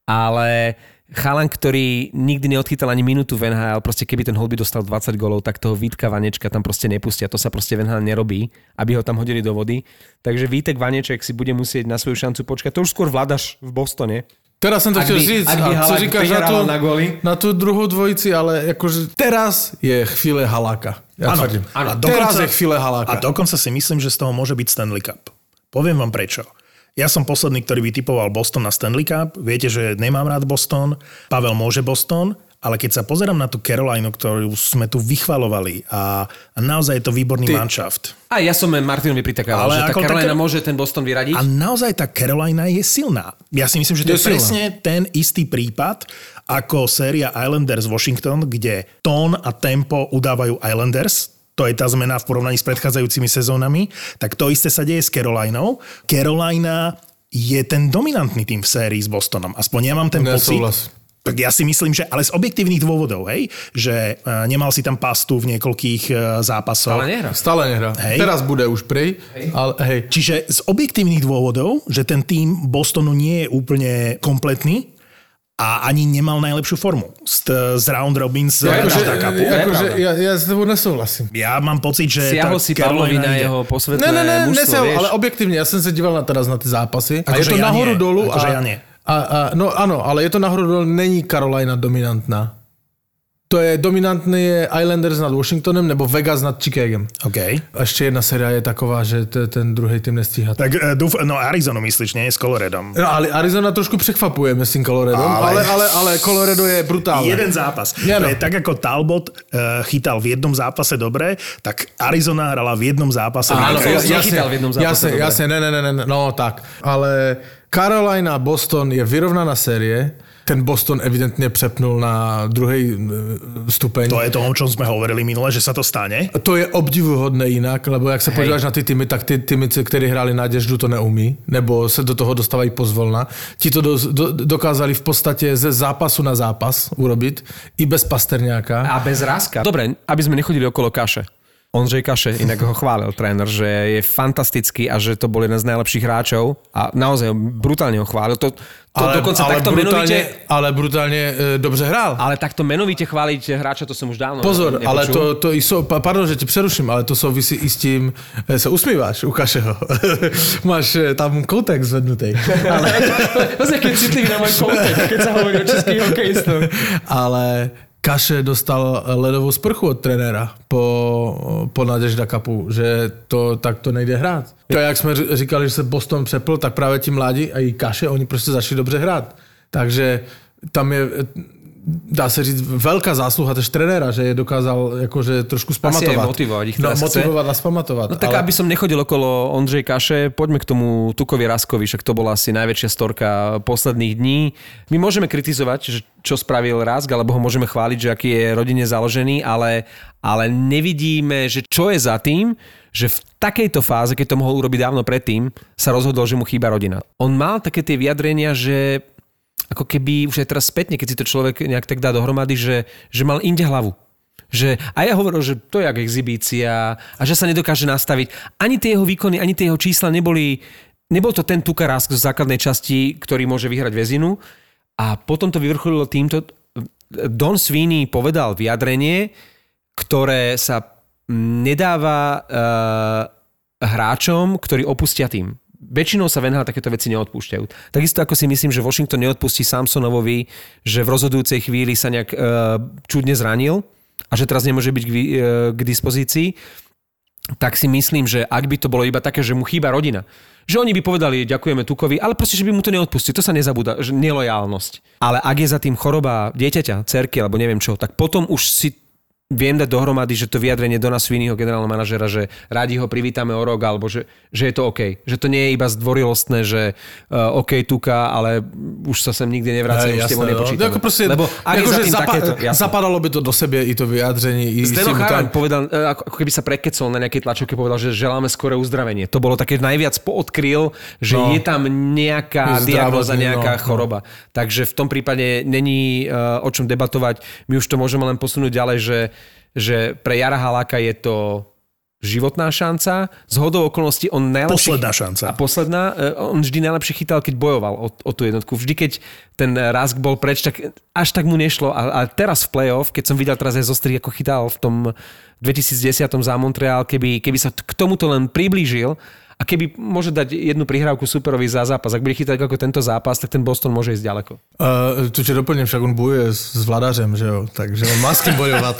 Ale Chalan, ktorý nikdy neodchytal ani minútu v en há el, proste keby ten Holtby dostal dvadsať golov, tak toho Vítka Vanečka tam proste nepustia. To sa proste v en há el nerobí, aby ho tam hodili do vody. Takže Vítek Vaneček si bude musieť na svoju šancu počkať. To už skôr vládaš v Bostone. Teraz som to chcel říct, a co říkáš na tú, na, na tú druhú dvojici, ale akože teraz je chvíle Haláka. Ja áno, áno, teraz je chvíle Haláka. A dokonca si myslím, že z toho môže byť Stanley Cup. Poviem vám prečo. Ja som posledný, ktorý vytipoval Boston na Stanley Cup. Viete, že nemám rád Boston. Pavel môže Boston, ale keď sa pozerám na tú Carolinu, ktorú sme tu vychvalovali a, a naozaj je to výborný Ty... manšaft. A ja som Martinovi pritakával, že tá Carolina tá... môže ten Boston vyradiť. A naozaj tá Carolina je silná. Ja si myslím, že to je, je presne ten istý prípad ako séria Islanders Washington, kde tón a tempo udávajú Islanders. To je tá zmena v porovnaní s predchádzajúcimi sezónami, tak to isté sa deje s Carolinou. Carolina je ten dominantný tým v sérii s Bostonom. Aspoň ja mám ten pocit. Tak ja si myslím, že ale z objektívnych dôvodov, hej, že uh, nemal si tam pastu v niekoľkých uh, zápasoch. Stále nehrá. Stále nehrá. Hej. Teraz bude už prej. Hej. Ale, hej. Čiže z objektívnych dôvodov, že ten tým Bostonu nie je úplne kompletný, a ani nemal najlepšiu formu z, z round robin z ja, akože, akože, ja, ja s tebou nesouhlasím. Ja mám pocit, že... Siahol si Pavlovi na jeho posvetné ne, ne, ne, mužstvo, nesahol, vieš? Ale objektívne, ja som sa díval na teraz na tie zápasy. Ako a je to ja nahoru nie. dolu. Akože a, ja nie. A, a, no áno, ale je to nahoru dolu, není Carolina dominantná. To je dominantný je Islanders nad Washingtonem nebo Vegas nad Chicagem. OK. A ešte jedna séria je taková, že t- ten druhý tým nestíha. Tak dúf, no Arizonu myslíš, nie? S Coloradom. No, ale Arizona trošku překvapuje, myslím, Coloradom. Ale, ale, ale, ale Colorado je brutálne. Jeden zápas. Ja, no. Tak ako Talbot uh, chytal v jednom zápase dobre, tak Arizona hrala v jednom zápase. Áno, nechytal v jednom zápase jasne, dobre. Jasne, ne, ne, ne, ne, no tak. Ale Carolina, Boston je vyrovnaná série. Ten Boston evidentne přepnul na druhý stupeň. To je to, o čom sme hovorili minule, že sa to stane? To je obdivuhodné inak, lebo jak sa podíváš na ty týmy, tak ty týmy, ktorí hrali Nadeždu, to neumí, nebo se do toho dostávají pozvolna. Ti to do, do, dokázali v podstate ze zápasu na zápas urobiť, i bez Pasterňáka. A bez Ráska. Dobre, aby sme nechodili okolo kaše. Ondřej Kaše, inak ho chválil tréner, že je fantastický a že to bol jeden z najlepších hráčov a naozaj brutálne ho chválil. To, to ale, dokonca ale takto brutálne, menovite... Ale brutálne e, dobře hrál. Ale takto menovite chváliť hráča, to som už dávno Pozor, nepočul. ale to, to i so, pardon, že ti přeruším, ale to souvisí i s tím, e, sa usmíváš u Kašeho. Máš e, tam koutek zvednutý. Ale... To je keď citlivý na môj koutek, keď sa hovorí o českých hokejistov. Ale... Kaše dostal ledovou sprchu od trenéra po, po Nadežda Cupu, že to takto nejde hrát. To jak jsme říkali, že se Boston přepl, tak právě ti mladí a i Kaše, oni prostě začali dobře hrát. Takže tam je, dá se říct, veľká zásluha tež trenéra, že je dokázal akože trošku spamatovat. Asi aj motivovať ich teraz no, motivovať a spamatovat. No tak ale... aby som nechodil okolo Ondřej Kaše, poďme k tomu Tukovi Raskovi, však to bola asi najväčšia storka posledných dní. My môžeme kritizovať, že čo spravil Rask, alebo ho môžeme chváliť, že aký je rodine založený, ale, ale nevidíme, že čo je za tým, že v takejto fáze, keď to mohol urobiť dávno predtým, sa rozhodol, že mu chýba rodina. On mal také tie vyjadrenia, že ako keby už aj teraz spätne, keď si to človek nejak tak dá dohromady, že, že mal inde hlavu. Že, a ja hovoril, že to je jak exhibícia a že sa nedokáže nastaviť. Ani tie jeho výkony, ani tie jeho čísla neboli, nebol to ten Tukarásk z základnej časti, ktorý môže vyhrať väzinu. A potom to vyvrcholilo týmto. Don Sweeney povedal vyjadrenie, ktoré sa nedáva uh, hráčom, ktorí opustia tým. Väčšinou sa v en há el takéto veci neodpúšťajú. Takisto ako si myslím, že Washington neodpustí Samsonovovi, že v rozhodujúcej chvíli sa nejak uh, čudne zranil a že teraz nemôže byť k, uh, k dispozícii, tak si myslím, že ak by to bolo iba také, že mu chýba rodina, že oni by povedali ďakujeme Tukovi, ale proste, že by mu to neodpustili. To sa nezabúda, že nelojálnosť. Ale ak je za tým choroba dieťaťa, cerky alebo neviem čo, tak potom už si viem dať dohromady, že to vyjadrenie Dona Sweeneyho, generálneho manažera, že rádi ho privítame o rok, alebo že, že je to OK. Že to nie je iba zdvorilostné, že uh, OK, Tuka, ale už sa sem nikde nevracia, už s tebou nepočítame. No, proste, lebo ak je za tým zapa- takéto... Zapadalo by to do sebe i to vyjadrenie. Zdeno Charan povedal, ako keby sa prekecol na nejakej tlačovke, povedal, že želáme skoré uzdravenie. To bolo také najviac poodkryl, že no, je tam nejaká diagnóza, nejaká no, choroba. No. Takže v tom prípade není uh, o čom debatovať. My už to môžeme len posunúť ďalej, že že pre Jara Haláka je to životná šanca. Zhodou okolností on najlepšie... Posledná šanca. A posledná, on vždy najlepšie chytal, keď bojoval o, o tú jednotku. Vždy, keď ten Rask bol preč, tak až tak mu nešlo. A, a teraz v play-off, keď som videl teraz aj zostrih, ako chytal v tom dvetisícdesať za Montreal, keby, keby sa k tomuto len priblížil a keby môže dať jednu prihrávku superovi za zápas, ak bude chytať ako tento zápas, tak ten Boston môže ísť ďaleko. Uh, tu ťa doplním, však on bojuje s, s Vladařem, že jo? Takže on má s kým bojovať.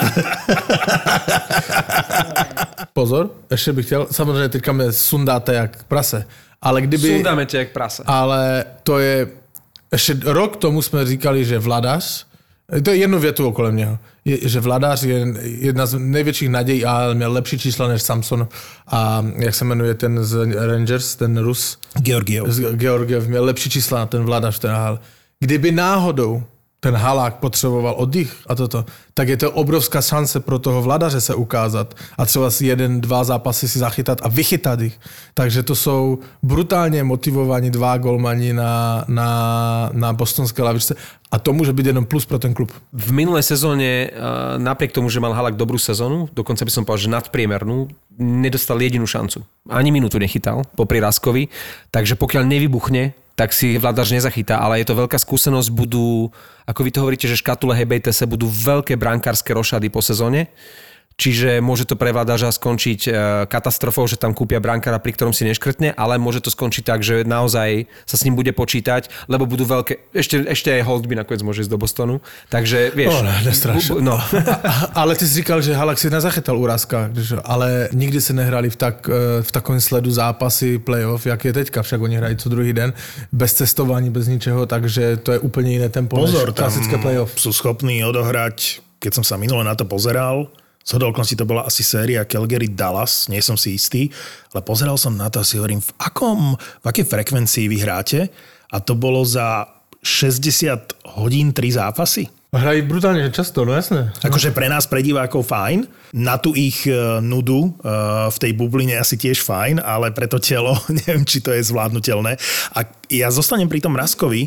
Pozor, ešte bych chtěl, samozřejmě teďka mě sundáte jak prase, ale kdyby... Sundáme tě jak prase. Ale to je, ešte rok tomu jsme říkali, že Vladař, to je jednu větu okolo něho, je, že Vladař je jedna z největších nadějí a měl lepší čísla než Samson a jak se jmenuje ten z Rangers, ten Rus? Georgiev. Georgiev měl lepší čísla na ten Vladař, ten hál. Kdyby náhodou ten Halák potřeboval oddych a toto, tak je to obrovská šance pro toho Vladaře se ukázat a třeba si jeden, dva zápasy si zachytat a vychytat ich. Takže to jsou brutálně motivovaní dva golmani na, na, na bostonské lavičce a to môže byť jenom plus pro ten klub. V minulej sezóne, napriek tomu, že mal Halák dobrú sezónu, dokonca by som povedal, že nadpriemernú, nedostal jedinú šancu. Ani minútu nechytal popri Raskovi, takže pokiaľ nevybuchne, tak si Vladař nezachytá, ale je to veľká skúsenosť, budú, ako vy to hovoríte, že škatule Hebejtese budú veľké brankárske rošady po sezóne, čiže môže to pre Vladařa skončiť katastrofou, že tam kúpia brankára, pri ktorom si neškrtne, ale môže to skončiť tak, že naozaj sa s ním bude počítať, lebo budú veľké, ešte, ešte aj Holtby nakoniec môže ísť do Bostonu, takže vieš. No, nestraš. No. Ale ty si říkal, že Halák si nezachytal úrazka, ale nikdy se nehrali v, tak, v takovém sledu zápasy playoff, jak je teďka, však oni hrají co druhý den, bez cestování, bez ničeho, takže to je úplne iné tempo. Pozor, než klasické playoff. Sú schopní odohrať, keď som sa minule na to pozeral, z hodolkosti to bola asi séria Calgary Dallas, nie som si istý, ale pozeral som na to a si hovorím, v akom, v akej frekvencii vy hráte a to bolo za šesťdesiat hodín tri zápasy. Hrají brutálne často, no jasné. Akože pre nás, pre divákov fajn, na tú ich nudu v tej bubline asi tiež fajn, ale pre to telo neviem, či to je zvládnutelné. A ja zostanem pri tom Raskovi,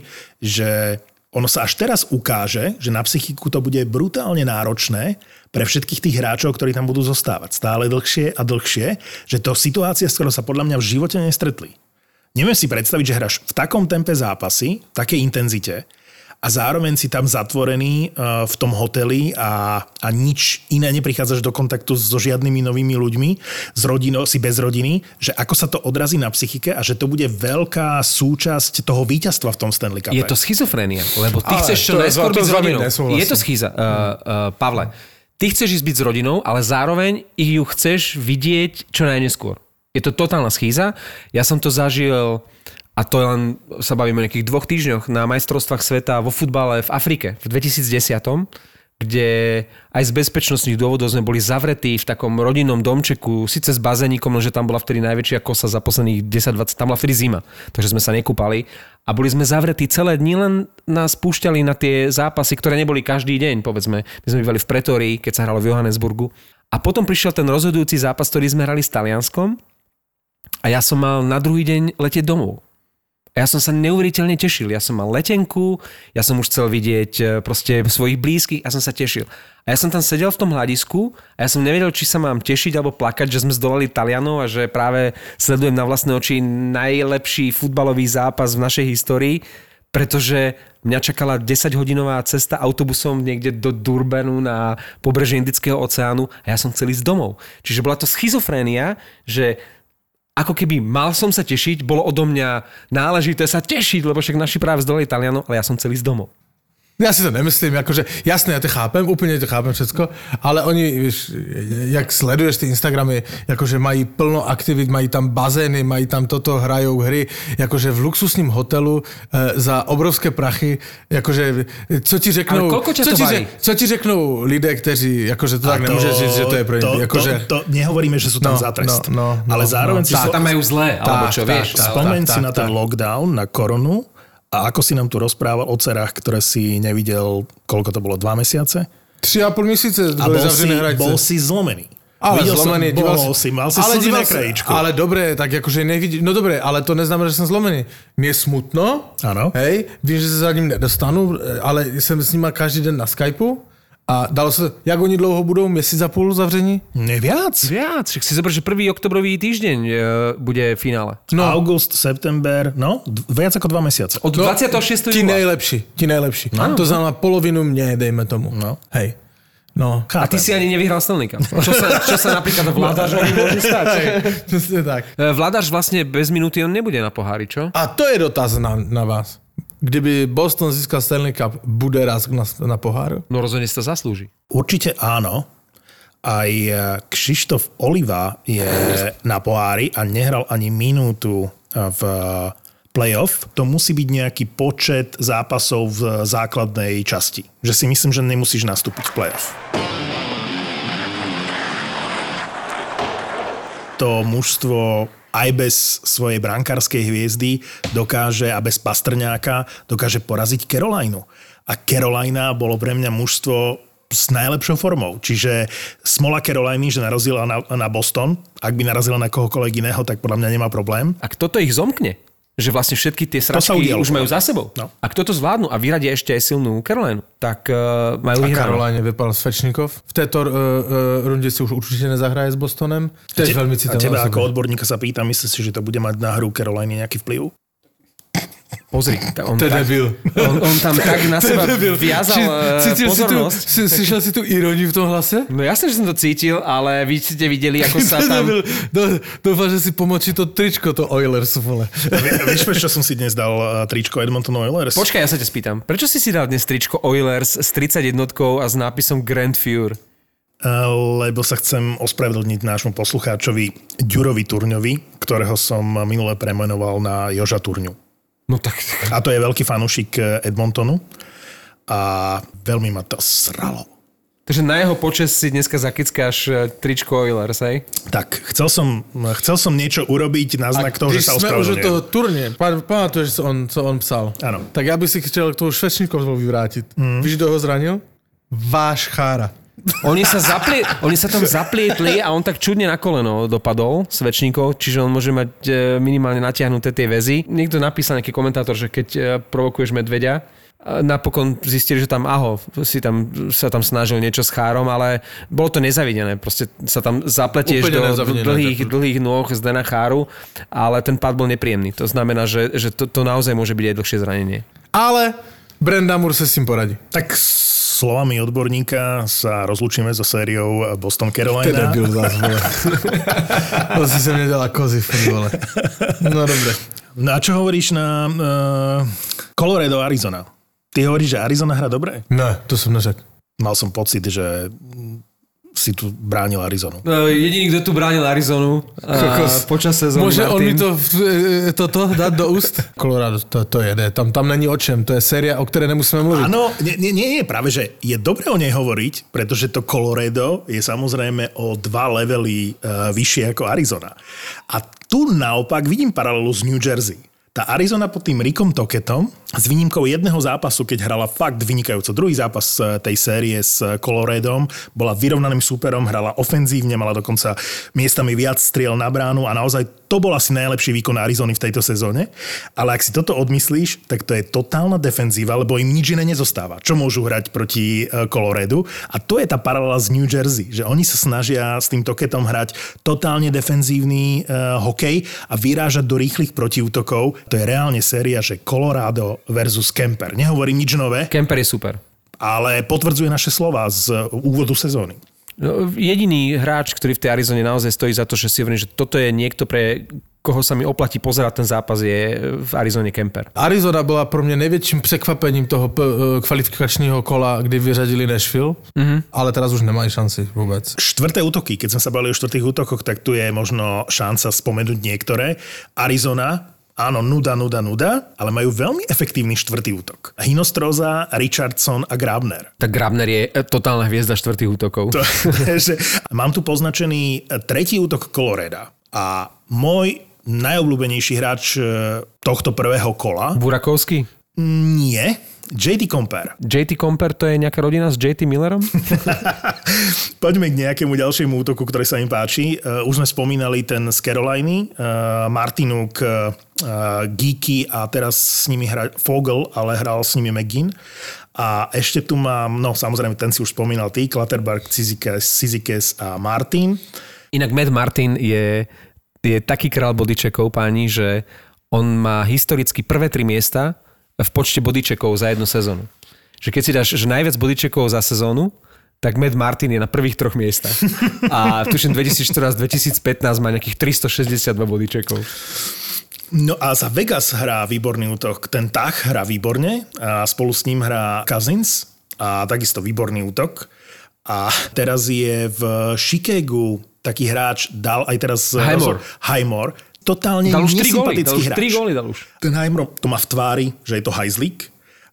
že ono sa až teraz ukáže, že na psychiku to bude brutálne náročné pre všetkých tých hráčov, ktorí tam budú zostávať stále dlhšie a dlhšie, že to situácia, s ktorou sa podľa mňa v živote nestretli. Neviem si predstaviť, že hráš v takom tempe zápasy, v takej intenzite a zároveň si tam zatvorený v tom hoteli a, a nič iné neprichádzaš do kontaktu so žiadnymi novými ľuďmi, s rodinou, si bez rodiny, že ako sa to odrazí na psychike a že to bude veľká súčasť toho víťazstva v tom Stanley Cupe. Je to schizofrénia, lebo ty ale chceš čo najskôr byť s rodinou. Je to schiza, uh, uh, Pavle. Ty chceš ísť byť s rodinou, ale zároveň ich ju chceš vidieť čo najneskôr. Je to totálna schýza. Ja som to zažil, a to len sa bavíme o nejakých dvoch týždňoch, na majstrovstvách sveta vo futbale v Afrike v dvetisícdesať, kde aj z bezpečnostných dôvodov sme boli zavretí v takom rodinnom domčeku, síce s bazénikom, no že tam bola vtedy najväčšia kosa za posledných desať dvadsať, tam bola vtedy zima, takže sme sa nekúpali a boli sme zavretí celé dni, len nás púšťali na tie zápasy, ktoré neboli každý deň, povedzme. My sme bývali v Pretórii, keď sa hralo v Johannesburgu. A potom prišiel ten rozhodujúci zápas, ktorý sme hrali s Talianskom a ja som mal na druhý deň letieť domov. A ja som sa neuveriteľne tešil. Ja som mal letenku, ja som už chcel vidieť proste svojich blízkych a som sa tešil. A ja som tam sedel v tom hľadisku a ja som nevedel, či sa mám tešiť alebo plakať, že sme zdolali Talianov a že práve sledujem na vlastné oči najlepší futbalový zápas v našej histórii, pretože mňa čakala desaťhodinová cesta autobusom niekde do Durbanu na pobreží Indického oceánu a ja som chcel ísť domov. Čiže bola to schizofrénia, že ako keby mal som sa tešiť, bolo odo mňa náležité sa tešiť, lebo však naši práve zdolali Talianov, ale ja som chcel ísť domov. Ja si to nemyslím, akože jasné, ja to chápem, úplne to chápem všetko, ale oni, víš, jak sleduješ ty Instagramy, akože mají plno aktivít, mají tam bazény, mají tam toto, hrajou hry, akože v luxusním hotelu e, za obrovské prachy, akože, co ti řeknou... Ale koľko ťa co to ti, baví? Co ti řeknou lidé, kteří, akože to tak to, nemôžeš říct, že to je pre to, akože... to, to, nehovoríme, že sú tam no, za trest. No, no, ale no, zároveň no, si... Tá, tam majú zlé, alebo čo, tak, vieš. tak, Spomeň tak, si tak, na ten tak. lockdown, na koronu a ako si nám tu rozprával o cerách, ktoré si nevidel, koľko to bolo, dva mesiace? Tři a pol měsíce A boli bol si, zavřené hranice. bol si zlomený. Ale Videl zlomený, som, díval bol si, mal si ale slzy díval na krajíčku. Ale dobre, tak akože nevidí, no dobre, ale to neznamená, že som zlomený. Mne je smutno, Áno. hej, vím, že sa za ním nedostanu, ale jsem s nima každý den na Skypeu a dalo sa, jak oni dlouho budou, měsíc a půl zavření? Neviac? Viac, však si zober, že prvý oktobrový týždeň e, bude finále. No. August, september, no, d- viac ako dva mesiace. Od dvadsiateho šiesteho Ti júla. nejlepší, ti nejlepší. No. To znamená polovinu mne, dejme tomu. No. Hej. No. A ty si ani nevyhral Stanley Cup. Čo sa, čo sa napríklad Vladařovi môže stať? Přesně tak. E, Vladař vlastne bez minúty on nebude na pohári, čo? A to je dotaz na, na vás. Kdyby Boston získal Stanley Cup, bude raz na, na poháru? No rozhodne si to zaslúži. Určite áno. Aj Kšištof Oliva je na pohári a nehral ani minútu v playoff. To musí byť nejaký počet zápasov v základnej časti. Že si myslím, že nemusíš nastúpiť v playoff. To mužstvo aj bez svojej brankárskej hviezdy dokáže, a bez Pastrňáka, dokáže poraziť Carolinu. A Carolina bolo pre mňa mužstvo s najlepšou formou. Čiže smola Caroliny, že narazila na, na Boston. Ak by narazila na kohokoľvek iného, tak podľa mňa nemá problém. A kto to ich zomkne? Že vlastne všetky tie sračky už majú za sebou. No. A kto to zvládnu a vyradia ešte aj silnú Carolinu, tak uh, majú A vyhranú. Caroline vypal Svečníkov. V této uh, uh, runde si už určite nezahraje s Bostonem. To je veľmi A citeľná teba osoba. ako odborníka sa pýtam, myslíš si, že to bude mať na hru Caroliny nejaký vplyv? Pozri, on, To je tak, debil. on, on tam tak na seba viazal uh, Cítil si tu, pozornosť. si, slyšel si tu iróniu v tom hlase? No jasne, že som to cítil, ale vy ste videli, ako sa To je tam... debil. Do- Dúfam, že si pomočí to tričko, to Oilers, vole. Vieš, prečo som si dnes dal uh, tričko Edmonton Oilers? Počkaj, ja sa ťa spýtam. Prečo si si dal dnes tričko Oilers s tridsaťjednotkou a s nápisom Grand Fure? Uh, lebo sa chcem ospravedlniť nášmu poslucháčovi Ďurovi Turňovi, ktorého som minule premenoval na Joža Turňu. No tak... A to je veľký fanúšik Edmontonu a veľmi ma to sralo. Takže na jeho počes si dneska zakickáš tričko Oilers, hej? Tak, chcel som, chcel som niečo urobiť na znak toho, že sa Když sme už od toho ospravedlňujem. turnie, pa- pamätuješ, co on, co on psal? Áno. Tak ja by si chcel k tomu Švečníkov vyvrátiť. Mm. Víš, kto ho zranil? Váš chára. Oni sa, zaplie, oni sa tam zaplietli a on tak čudne na koleno dopadol, Svečníkov, čiže on môže mať e, minimálne natiahnuté tie väzy. Niekto napísal, nejaký komentátor, že keď e, provokuješ medveďa, napokon zistili, že tam aho, si tam, sa tam snažil niečo s chárom, ale bolo to nezavidené. Proste sa tam zapletieš Úplne do, do nezavidené, dlhých, tak. dlhých nôh z Dana Cháru, ale ten pád bol nepríjemný. To znamená, že, že to, to naozaj môže byť aj dlhšie zranenie. Ale Brenda Moore sa s tým poradí. Tak slovami odborníka sa rozlúčime so sériou Boston Carolina. Teda byl zás, vole. To si sa mne dala kozy, vole. No dobre. No a čo hovoríš na uh, Colorado, Arizona? Ty hovoríš, že Arizona hrá dobre? Ne, to som neřekl. Mal som pocit, že si tu bránil Arizonu. No, jediný, kto tu bránil Arizonu a počas sezóny Môže on mi Martin. to, toto dať do úst? Colorado, to, to jede. Tam, tam není o čem. To je séria, o ktorej nemusíme mluviť. Áno, nie, nie, nie, práve, že je dobre o nej hovoriť, pretože to Colorado je samozrejme o dva levely uh, vyššie ako Arizona. A tu naopak vidím paralelu s New Jersey. Tá Arizona pod tým Rickom Toketom s výnimkou jedného zápasu, keď hrala fakt vynikajúco. Druhý zápas tej série s Coloradom, bola vyrovnaným súperom, hrala ofenzívne, mala dokonca miestami viac striel na bránu a naozaj to to bol asi najlepší výkon Arizony v tejto sezóne. Ale ak si toto odmyslíš, tak to je totálna defenzíva, lebo im nič iné nezostáva. Čo môžu hrať proti Coloredu? A to je tá paralela z New Jersey, že oni sa snažia s tým Toketom hrať totálne defenzívny uh, hokej a vyrážať do rýchlych protiútokov. To je reálne séria, že Colorado versus Kemper. Nehovorím nič nové. Kemper je super. Ale potvrdzuje naše slova z úvodu sezóny. No, jediný hráč, ktorý v tej Arizone naozaj stojí za to, že si hovorím, že toto je niekto, pre koho sa mi oplatí pozerať ten zápas, je v Arizone Kemper. Arizona bola pro mňa najväčším prekvapením toho p- kvalifikačného kola, kdy vyřadili Nashville, mm-hmm. ale teraz už nemajú šanci vôbec. Štvrté útoky, keď sme sa bavili o štvrtých útokoch, tak tu je možno šanca spomenúť niektoré. Arizona, áno, nuda, nuda, nuda, ale majú veľmi efektívny štvrtý útok. Hinostroza, Richardson a Grabner. Tak Grabner je totálna hviezda štvrtých útokov. To, že mám tu poznačený tretí útok Coloreda a môj najobľúbenejší hráč tohto prvého kola... Burakovský? Nie. J T Compare. J T Compare to je nejaká rodina s J T Millerom? Poďme k nejakému ďalšiemu útoku, ktorý sa im páči. Uh, už sme spomínali ten z Caroliny, uh, Martinuk, uh, Geeky a teraz s nimi hra Fogel, ale hral s nimi McGinn. A ešte tu mám, no samozrejme, ten si už spomínal ty, Clutterberg, Cizikas a Martin. Inak Matt Martin je, je taký král bodyčekov, páni, že on má historicky prvé tri miesta v počte bodyčekov za jednu sezónu. Že keď si dáš že najviac bodyčekov za sezónu, tak Matt Martin je na prvých troch miestach. A tuším dvetisícštrnásť dvetisícpätnásť má nejakých tristošesťdesiatdva bodyčekov. No a za Vegas hrá výborný útok. Ten Tach hrá výborne a spolu s ním hrá Cousins a takisto výborný útok. A teraz je v Chicagu taký hráč, dal aj teraz Highmore. Highmore. Totálne dal už nesympatický hráč. tri góly dal už. Ten Highmore to má v tvári, že je to hajzlík.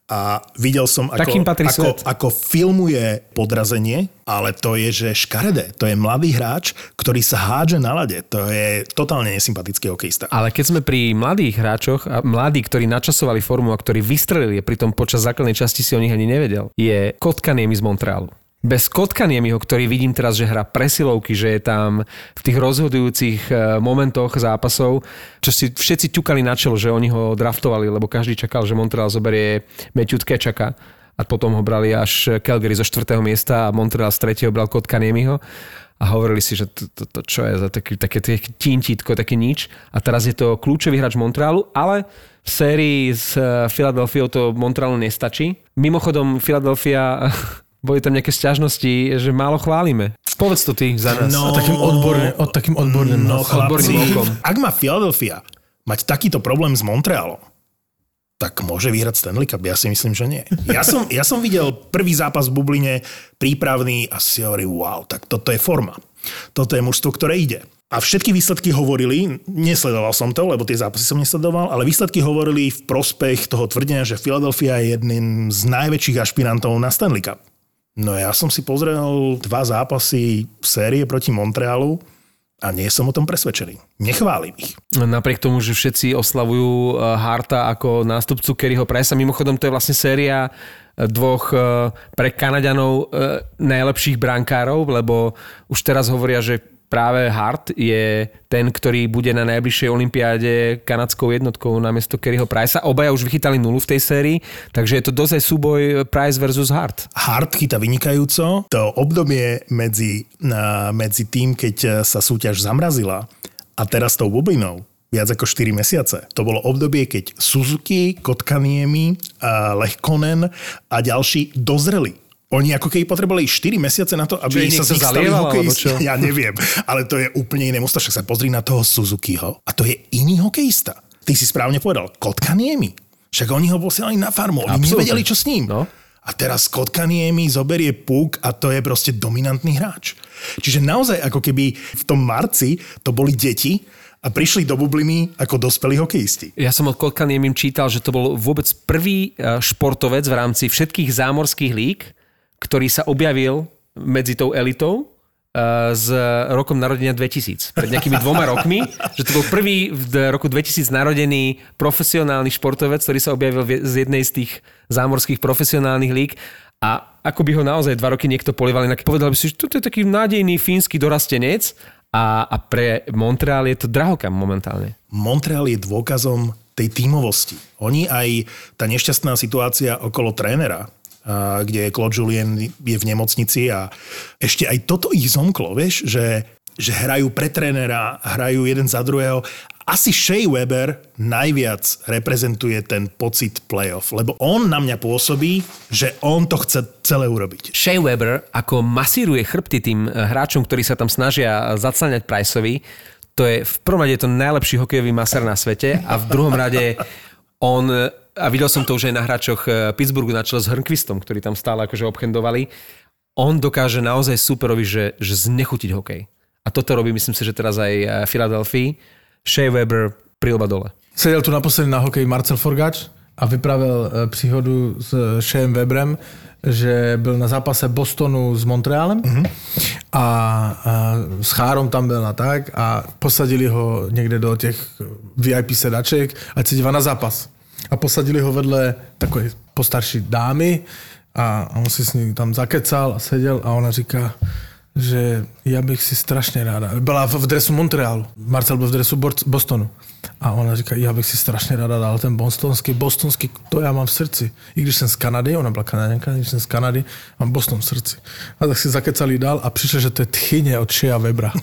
A videl som, ako, ako, ako filmuje podrazenie, ale to je, že škaredé. To je mladý hráč, ktorý sa hádže na ľade. To je totálne nesympatický hokejista. Ale keď sme pri mladých hráčoch, a mladí, ktorí načasovali formu a ktorí vystrelili, pritom počas základnej časti si o nich ani nevedel, je Kotkaniemi z Montrealu. Bez Kotkaniemiho, ktorý vidím teraz, že hrá presilovky, že je tam v tých rozhodujúcich momentoch zápasov, čo si všetci ťukali na čelo, že oni ho draftovali, lebo každý čakal, že Montreal zoberie Matthew Tkečaka a potom ho brali až Calgary zo štvrtého miesta a Montreal z tretieho bral Kotkaniemiho a hovorili si, že to, to, to čo je za taký, také tintítko, také nič. A teraz je to kľúčový hráč Montrealu, ale v sérii s Philadelphiou to Montrealu nestačí. Mimochodom, Philadelphia... Boli tam nejaké sťažnosti, že málo chválime. Povedz to ty za nás. No, a takým odborným, od takým odborným, no, odborným okom. Ak má Philadelphia mať takýto problém s Montrealom, tak môže vyhrať Stanley Cup. Ja si myslím, že nie. Ja som, ja som videl prvý zápas v Bubline, prípravný a si hovorím, wow, tak toto je forma. Toto je mužstvo, ktoré ide. A všetky výsledky hovorili, nesledoval som to, lebo tie zápasy som nesledoval, ale výsledky hovorili v prospech toho tvrdenia, že Philadelphia je jedným z najväčších ašpirantov na Stanley Cup. No ja som si pozrel dva zápasy v série proti Montrealu a nie som o tom presvedčený. Nechválim ich. Napriek tomu, že všetci oslavujú Harta ako nástupcu Kerryho Price'a, mimochodom to je vlastne séria dvoch pre Kanaďanov najlepších brankárov, lebo už teraz hovoria, že práve Hart je ten, ktorý bude na najbližšej olympiáde kanadskou jednotkou namiesto Kerryho Price'a. Obaja už vychytali nulu v tej sérii, takže je to dosť aj súboj Price versus Hart. Hart chytá vynikajúco. To obdobie medzi, medzi tým, keď sa súťaž zamrazila a teraz tou bublinou, viac ako štyri mesiace. To bolo obdobie, keď Suzuki, Kotkaniemi, Lehkonen a ďalší dozreli. Oni ako keby potrebovali štyri mesiace na to, aby sa z nich stali hokejisti. Ja neviem, ale to je úplne iné mužstvo. Však sa pozri na toho Suzukiho. A to je iný hokejista. Ty si správne povedal, Kotkaniemi. Však oni ho posielali na farmu. Oni Absolutne. Nevedeli, čo s ním. No. A teraz Kotkaniemi zoberie puk a to je proste dominantný hráč. Čiže naozaj ako keby v tom marci to boli deti a prišli do bubliny ako dospelí hokejisti. Ja som od Kotkaniemim čítal, že to bol vôbec prvý športovec v rámci všetkých zámorských líg, ktorý sa objavil medzi tou elitou uh, s rokom narodenia dvetisíc. Pred nejakými dvoma rokmi, že to bol prvý v roku dvetisíc narodený profesionálny športovec, ktorý sa objavil z jednej z tých zámorských profesionálnych líg a ako by ho naozaj dva roky niekto polieval, inak povedal by si, že toto je taký nádejný fínsky dorastenec a, a pre Montreal je to drahokam momentálne. Montreal je dôkazom tej tímovosti. Oni aj tá nešťastná situácia okolo trénera, kde Claude Julien je v nemocnici a ešte aj toto ich zomklo, vieš, že, že hrajú pre trénera, hrajú jeden za druhého. Asi Shea Weber najviac reprezentuje ten pocit playoff, lebo on na mňa pôsobí, že on to chce celé urobiť. Shea Weber ako masíruje chrbty tým hráčom, ktorí sa tam snažia zacáňať Priceovi, to je v prvom rade to najlepší hokejový masér na svete a v druhom rade on, a videl som to už aj na hráčoch Pittsburghu na čele s Hörnqvistom, ktorí tam stále akože obchendovali, on dokáže naozaj superovi, že, že znechutiť hokej. A toto robí, myslím si, že teraz aj Philadelphia. Shea Weber prilba dole. Sedel tu naposledy na hokeji Marcel Forgač a vypravil příhodu s Sheaem Weberem, že byl na zápase Bostonu s Montrealem mm-hmm. a, a s Chárom tam byl a tak a posadili ho někde do těch V I P sedaček, ať se dívá na zápas. A posadili ho vedle takové postarší dámy a on si s ní tam zakecal a seděl a ona říká, že já bych si strašně ráda, byla v dresu Montrealu, Marcel byl v dresu Bostonu a ona říká, já bych si strašně ráda dal ten bostonský, bostonský, to já mám v srdci. I když jsem z Kanady, ona byla Kanaděnka, když jsem z Kanady, mám Boston v srdci. A tak si zakecali dál a přišlo, že to je tchyně od Shea Webera.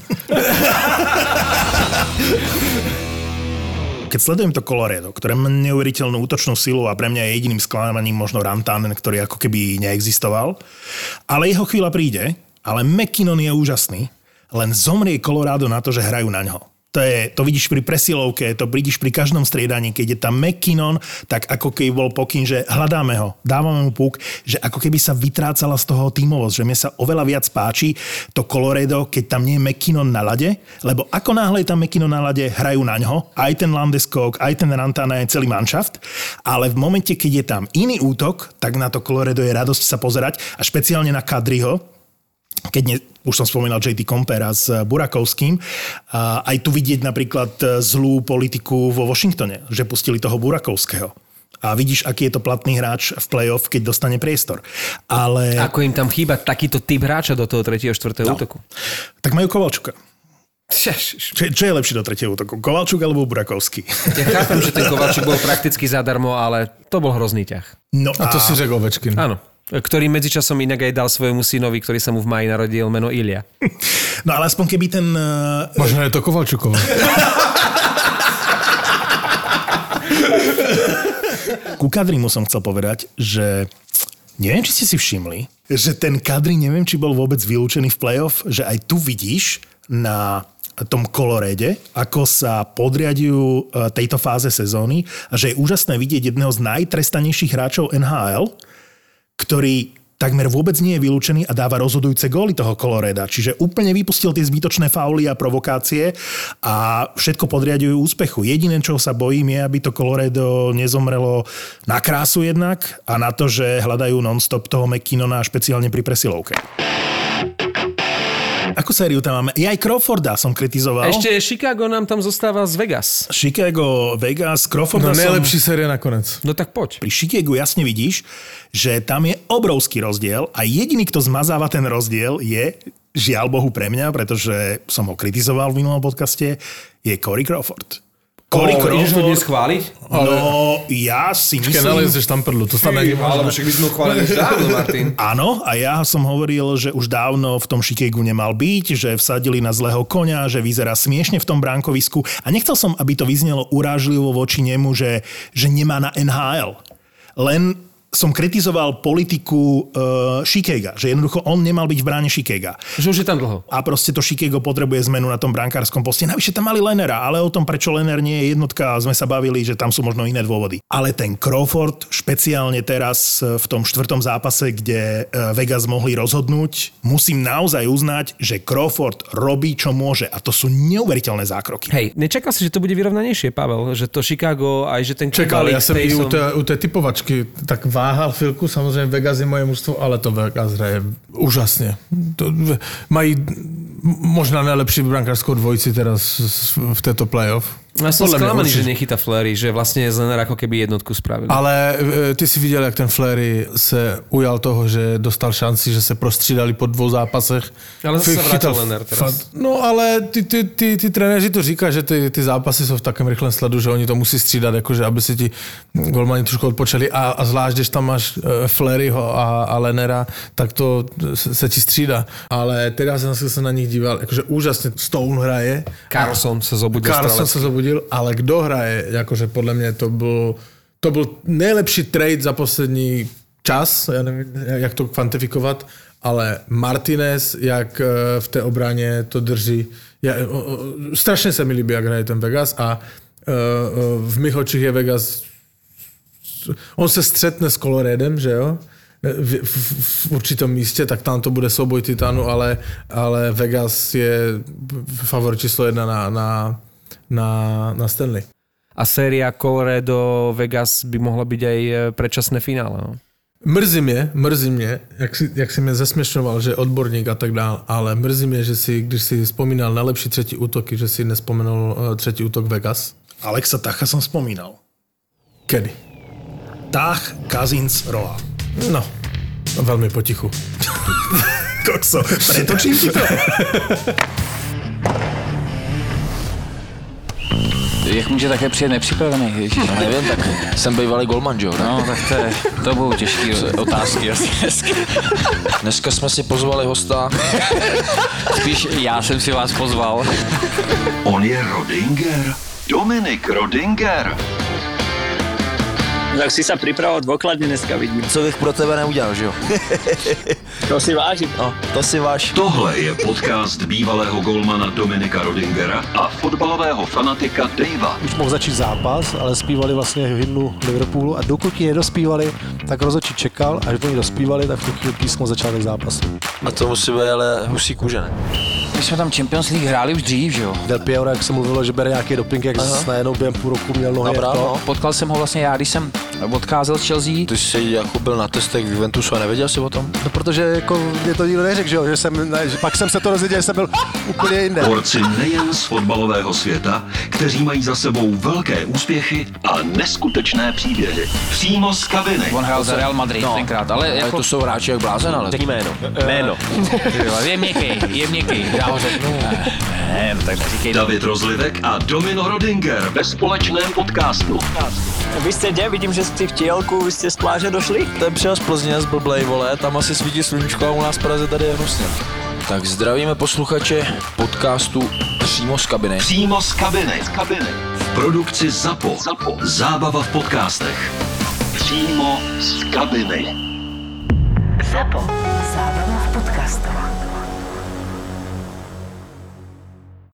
Keď sledujem to Colorado, ktoré má neuveriteľnú útočnú silu a pre mňa je jediným sklamaním možno Rantanen, ktorý ako keby neexistoval, ale jeho chvíľa príde. Ale McKinnon je úžasný, len zomrie Colorado na to, že hrajú na ňo. To, je, to vidíš pri presilovke, to vidíš pri každom striedaní, keď je tam McKinnon, tak ako keby bol pokyn, že hľadáme ho, dávame mu puk, že ako keby sa vytrácala z toho tímovosť, že mne sa oveľa viac páči to Colorado, keď tam nie je McKinnon na lade, lebo ako náhle je tam McKinnon na lade, hrajú na ňo, aj ten Landeskog, aj ten Rantanen, aj celý manšaft, ale v momente, keď je tam iný útok, tak na to Colorado je radosť sa pozerať a špeciálne na Kadriho, keď ne, už som spomínal J T Compera s Burakovským, a aj tu vidieť napríklad zlú politiku vo Washingtone, že pustili toho Burakovského. A vidíš, aký je to platný hráč v play-off, keď dostane priestor. Ale... Ako im tam chýba takýto typ hráča do toho tretieho štvrtého no. útoku? Tak majú Kovalčuka. Čo, čo je lepšie do tretieho útoku? Kovalčuk alebo Burakovský? Ja chápem, že ten Kovalčuk bol prakticky zadarmo, ale to bol hrozný ťah. No a, a to si řekl Ovečkin. Áno. Ktorý medzičasom inak aj dal svojmu synovi, ktorý sa mu v máji narodil, meno Ilja. No ale aspoň keby ten... Uh... Možno je to Kovalčukova. Ku Kadrimu som chcel povedať, že neviem, či ste si všimli, že ten Kadri, neviem, či bol vôbec vylúčený v play-off, že aj tu vidíš na tom Colorade, ako sa podriadujú tejto fáze sezóny a že je úžasné vidieť jedného z najtrestanejších hráčov N H L, ktorý takmer vôbec nie je vylúčený a dáva rozhodujúce góly toho Colorada. Čiže úplne vypustil tie zbytočné fauly a provokácie a všetko podriadujú úspechu. Jediné, čo sa bojím, je, aby to Colorado nezomrelo na krásu jednak a na to, že hľadajú non-stop toho McKinnona špeciálne pri presilovke. Akú sériu tam máme? Ja aj Crawforda som kritizoval. Ešte Chicago nám tam zostáva z Vegas. Chicago, Vegas, Crawforda no, som... najlepší séria nakonec. No tak poď. Pri Chicagu jasne vidíš, že tam je obrovský rozdiel a jediný, kto zmazáva ten rozdiel je, žiaľ Bohu pre mňa, pretože som ho kritizoval v minulom podcaste, je Corey Crawford. Corey Crawford. Ideš ho dnes chváliť? No, ja si myslím... Keď nalezeš tam prdlu, to stane nemôžeme. Alebo však by sme ho chválili už dávno, Martin. Áno, a ja som hovoril, že už dávno v tom Chicagu nemal byť, že vsadili na zlého koňa, že vyzerá smiešne v tom bránkovisku a nechcel som, aby to vyznelo urážlivo voči nemu, že, že nemá na N H L. Len som kritizoval politiku uh, Chicaga, že jednoducho on nemal byť v bráne Chicaga. Že už je tam dlho. A proste to Chicago potrebuje zmenu na tom brankárskom poste. Navyše tam mali Lennera, ale o tom, prečo Lenner nie je jednotka, sme sa bavili, že tam sú možno iné dôvody. Ale ten Crawford, špeciálne teraz v tom štvrtom zápase, kde Vegas mohli rozhodnúť, musím naozaj uznať, že Crawford robí, čo môže. A to sú neuveriteľné zákroky. Hej, nečakal si, že to bude vyrovnanejšie, Pavel? Že to Chicago, aj že ten... Čakal, ja som i u tej, u tej typovačky tak váhal chvíľku, samozrejme Vegas je moje mužstvo, ale to Vegas hraje úžasne. To, mají možná najlepší brankárskú dvojici teraz v tejto playoff. Ja som Podľa mňa sklamaný, určite. že nechytá Flery, že vlastne z Lennera ako keby jednotku spravili. Ale e, ty si viděl, jak ten Flery se ujal toho, že dostal šanci, že se prostřídali po dvou zápasech. Ale zase F- sa vrátil chytal Lenner teraz. fat- No ale ty, ty, ty, ty trenéři to říkají, že ty, ty zápasy jsou v takém rychlém sledu, že oni to musí střídat, jakože aby si ti golmani trošku odpočali a, a zvlášť, když tam máš e, Fleryho a, a Lennera, tak to se, se ti střídá. Ale teda jsem se na nich díval, jakože úžasně Stone hraje. Carlson sa zobudil Carlson strelecky. se zobudil, ale kdo hraje, jakože podle mě to byl, to byl nejlepší trade za poslední čas, já nevím, jak to kvantifikovat, ale Martinez, jak v té obraně to drží, já, o, o, strašně se mi líbí, jak hraje ten Vegas a o, v mých očích je Vegas, on se střetne s Coloradem, že jo? V, v, v určitom místě, tak tam to bude souboj titánu, ale, ale Vegas je favorit číslo jedna na, na, na, na Stanley. A séria Colorado Vegas by mohla byť aj predčasné finále. No? Mrzí mě, mrzí mě, jak si, jak si mě zesměšňoval, že odborník a tak dál, ale mrzí mě, že si, když si vzpomínal na lepší třetí útoky, že si nespomenul uh, třetí útok Vegas. Alexa Tacha som spomínal. Kedy? Tach, Cousins, Rola. No, velmi potichu. Kokso, pretočím ti to? Jak může také přijet nepřipravený, ježiš? No nevím, tak jsem bývalý golman, jo? No, tak to, je, to budou těžký otázky asi dneska. Dneska jsme si pozvali hosta. Spíš já jsem si vás pozval. On je Rodinger. Dominik Rodinger. Tak si sa pripravoval dôkladne dneska, vidím. Co bych pro tebe neudělal, že jo? To si vážim. No, to si váš. Tohle je podcast bývalého golmana Dominika Rodingera a fotbalového fanatika Davea. Už mohl začít zápas, ale zpívali vlastně hymnu Liverpoolu a dokud ji nedospívali, tak rozhodčí čekal, až oni dospívali, tak v tu chvíli písmo začátek zápasu. A to musí být ale husí kůže, ne? My jsme tam Champions League hráli už dřív, že jo? Del Piero, jak se mluvilo, že bere nějaký doping, jak najednou během půl roku měl nohy. Dobrá, jako. no. Potkal jsem ho vlastně já, když jsem odcházel z Chelsea. Ty jsi jako byl na testech v Juventusu a nevěděl jsi o tom? No, protože jako mě to nikdo neřekl, že jo, že jsem, ne, že pak jsem se to dozvěděl, že jsem byl úplně jinde. Borci nejen z fotbalového světa, kteří mají za sebou velké úspěchy a neskutečné příběhy. Přímo z kabiny. On hrál za Real Madrid No, tenkrát, ale ale jako... to jsou hráči jak blázen, ale... Řekni jméno. Jméno. Je měkký, je měkký. Já ho řeknu. Ne, no tak neříkej. David Rozlivek a Domino Rodinger ve společném podcastu. Vy ste kde? Vidím, že ste v tielku, vy ste z pláže došli? Ten přijel z Plzně, z blblej, vole, tam asi svítí sluníčko a u nás v Praze tady je hnusně. Tak zdravíme posluchače podcastu Přímo z kabiny. Přímo z kabiny. Z kabiny. V produkci ZAPO. ZAPO. Zábava v podcastech. Přímo z kabiny. ZAPO. Zábrná v podcastov.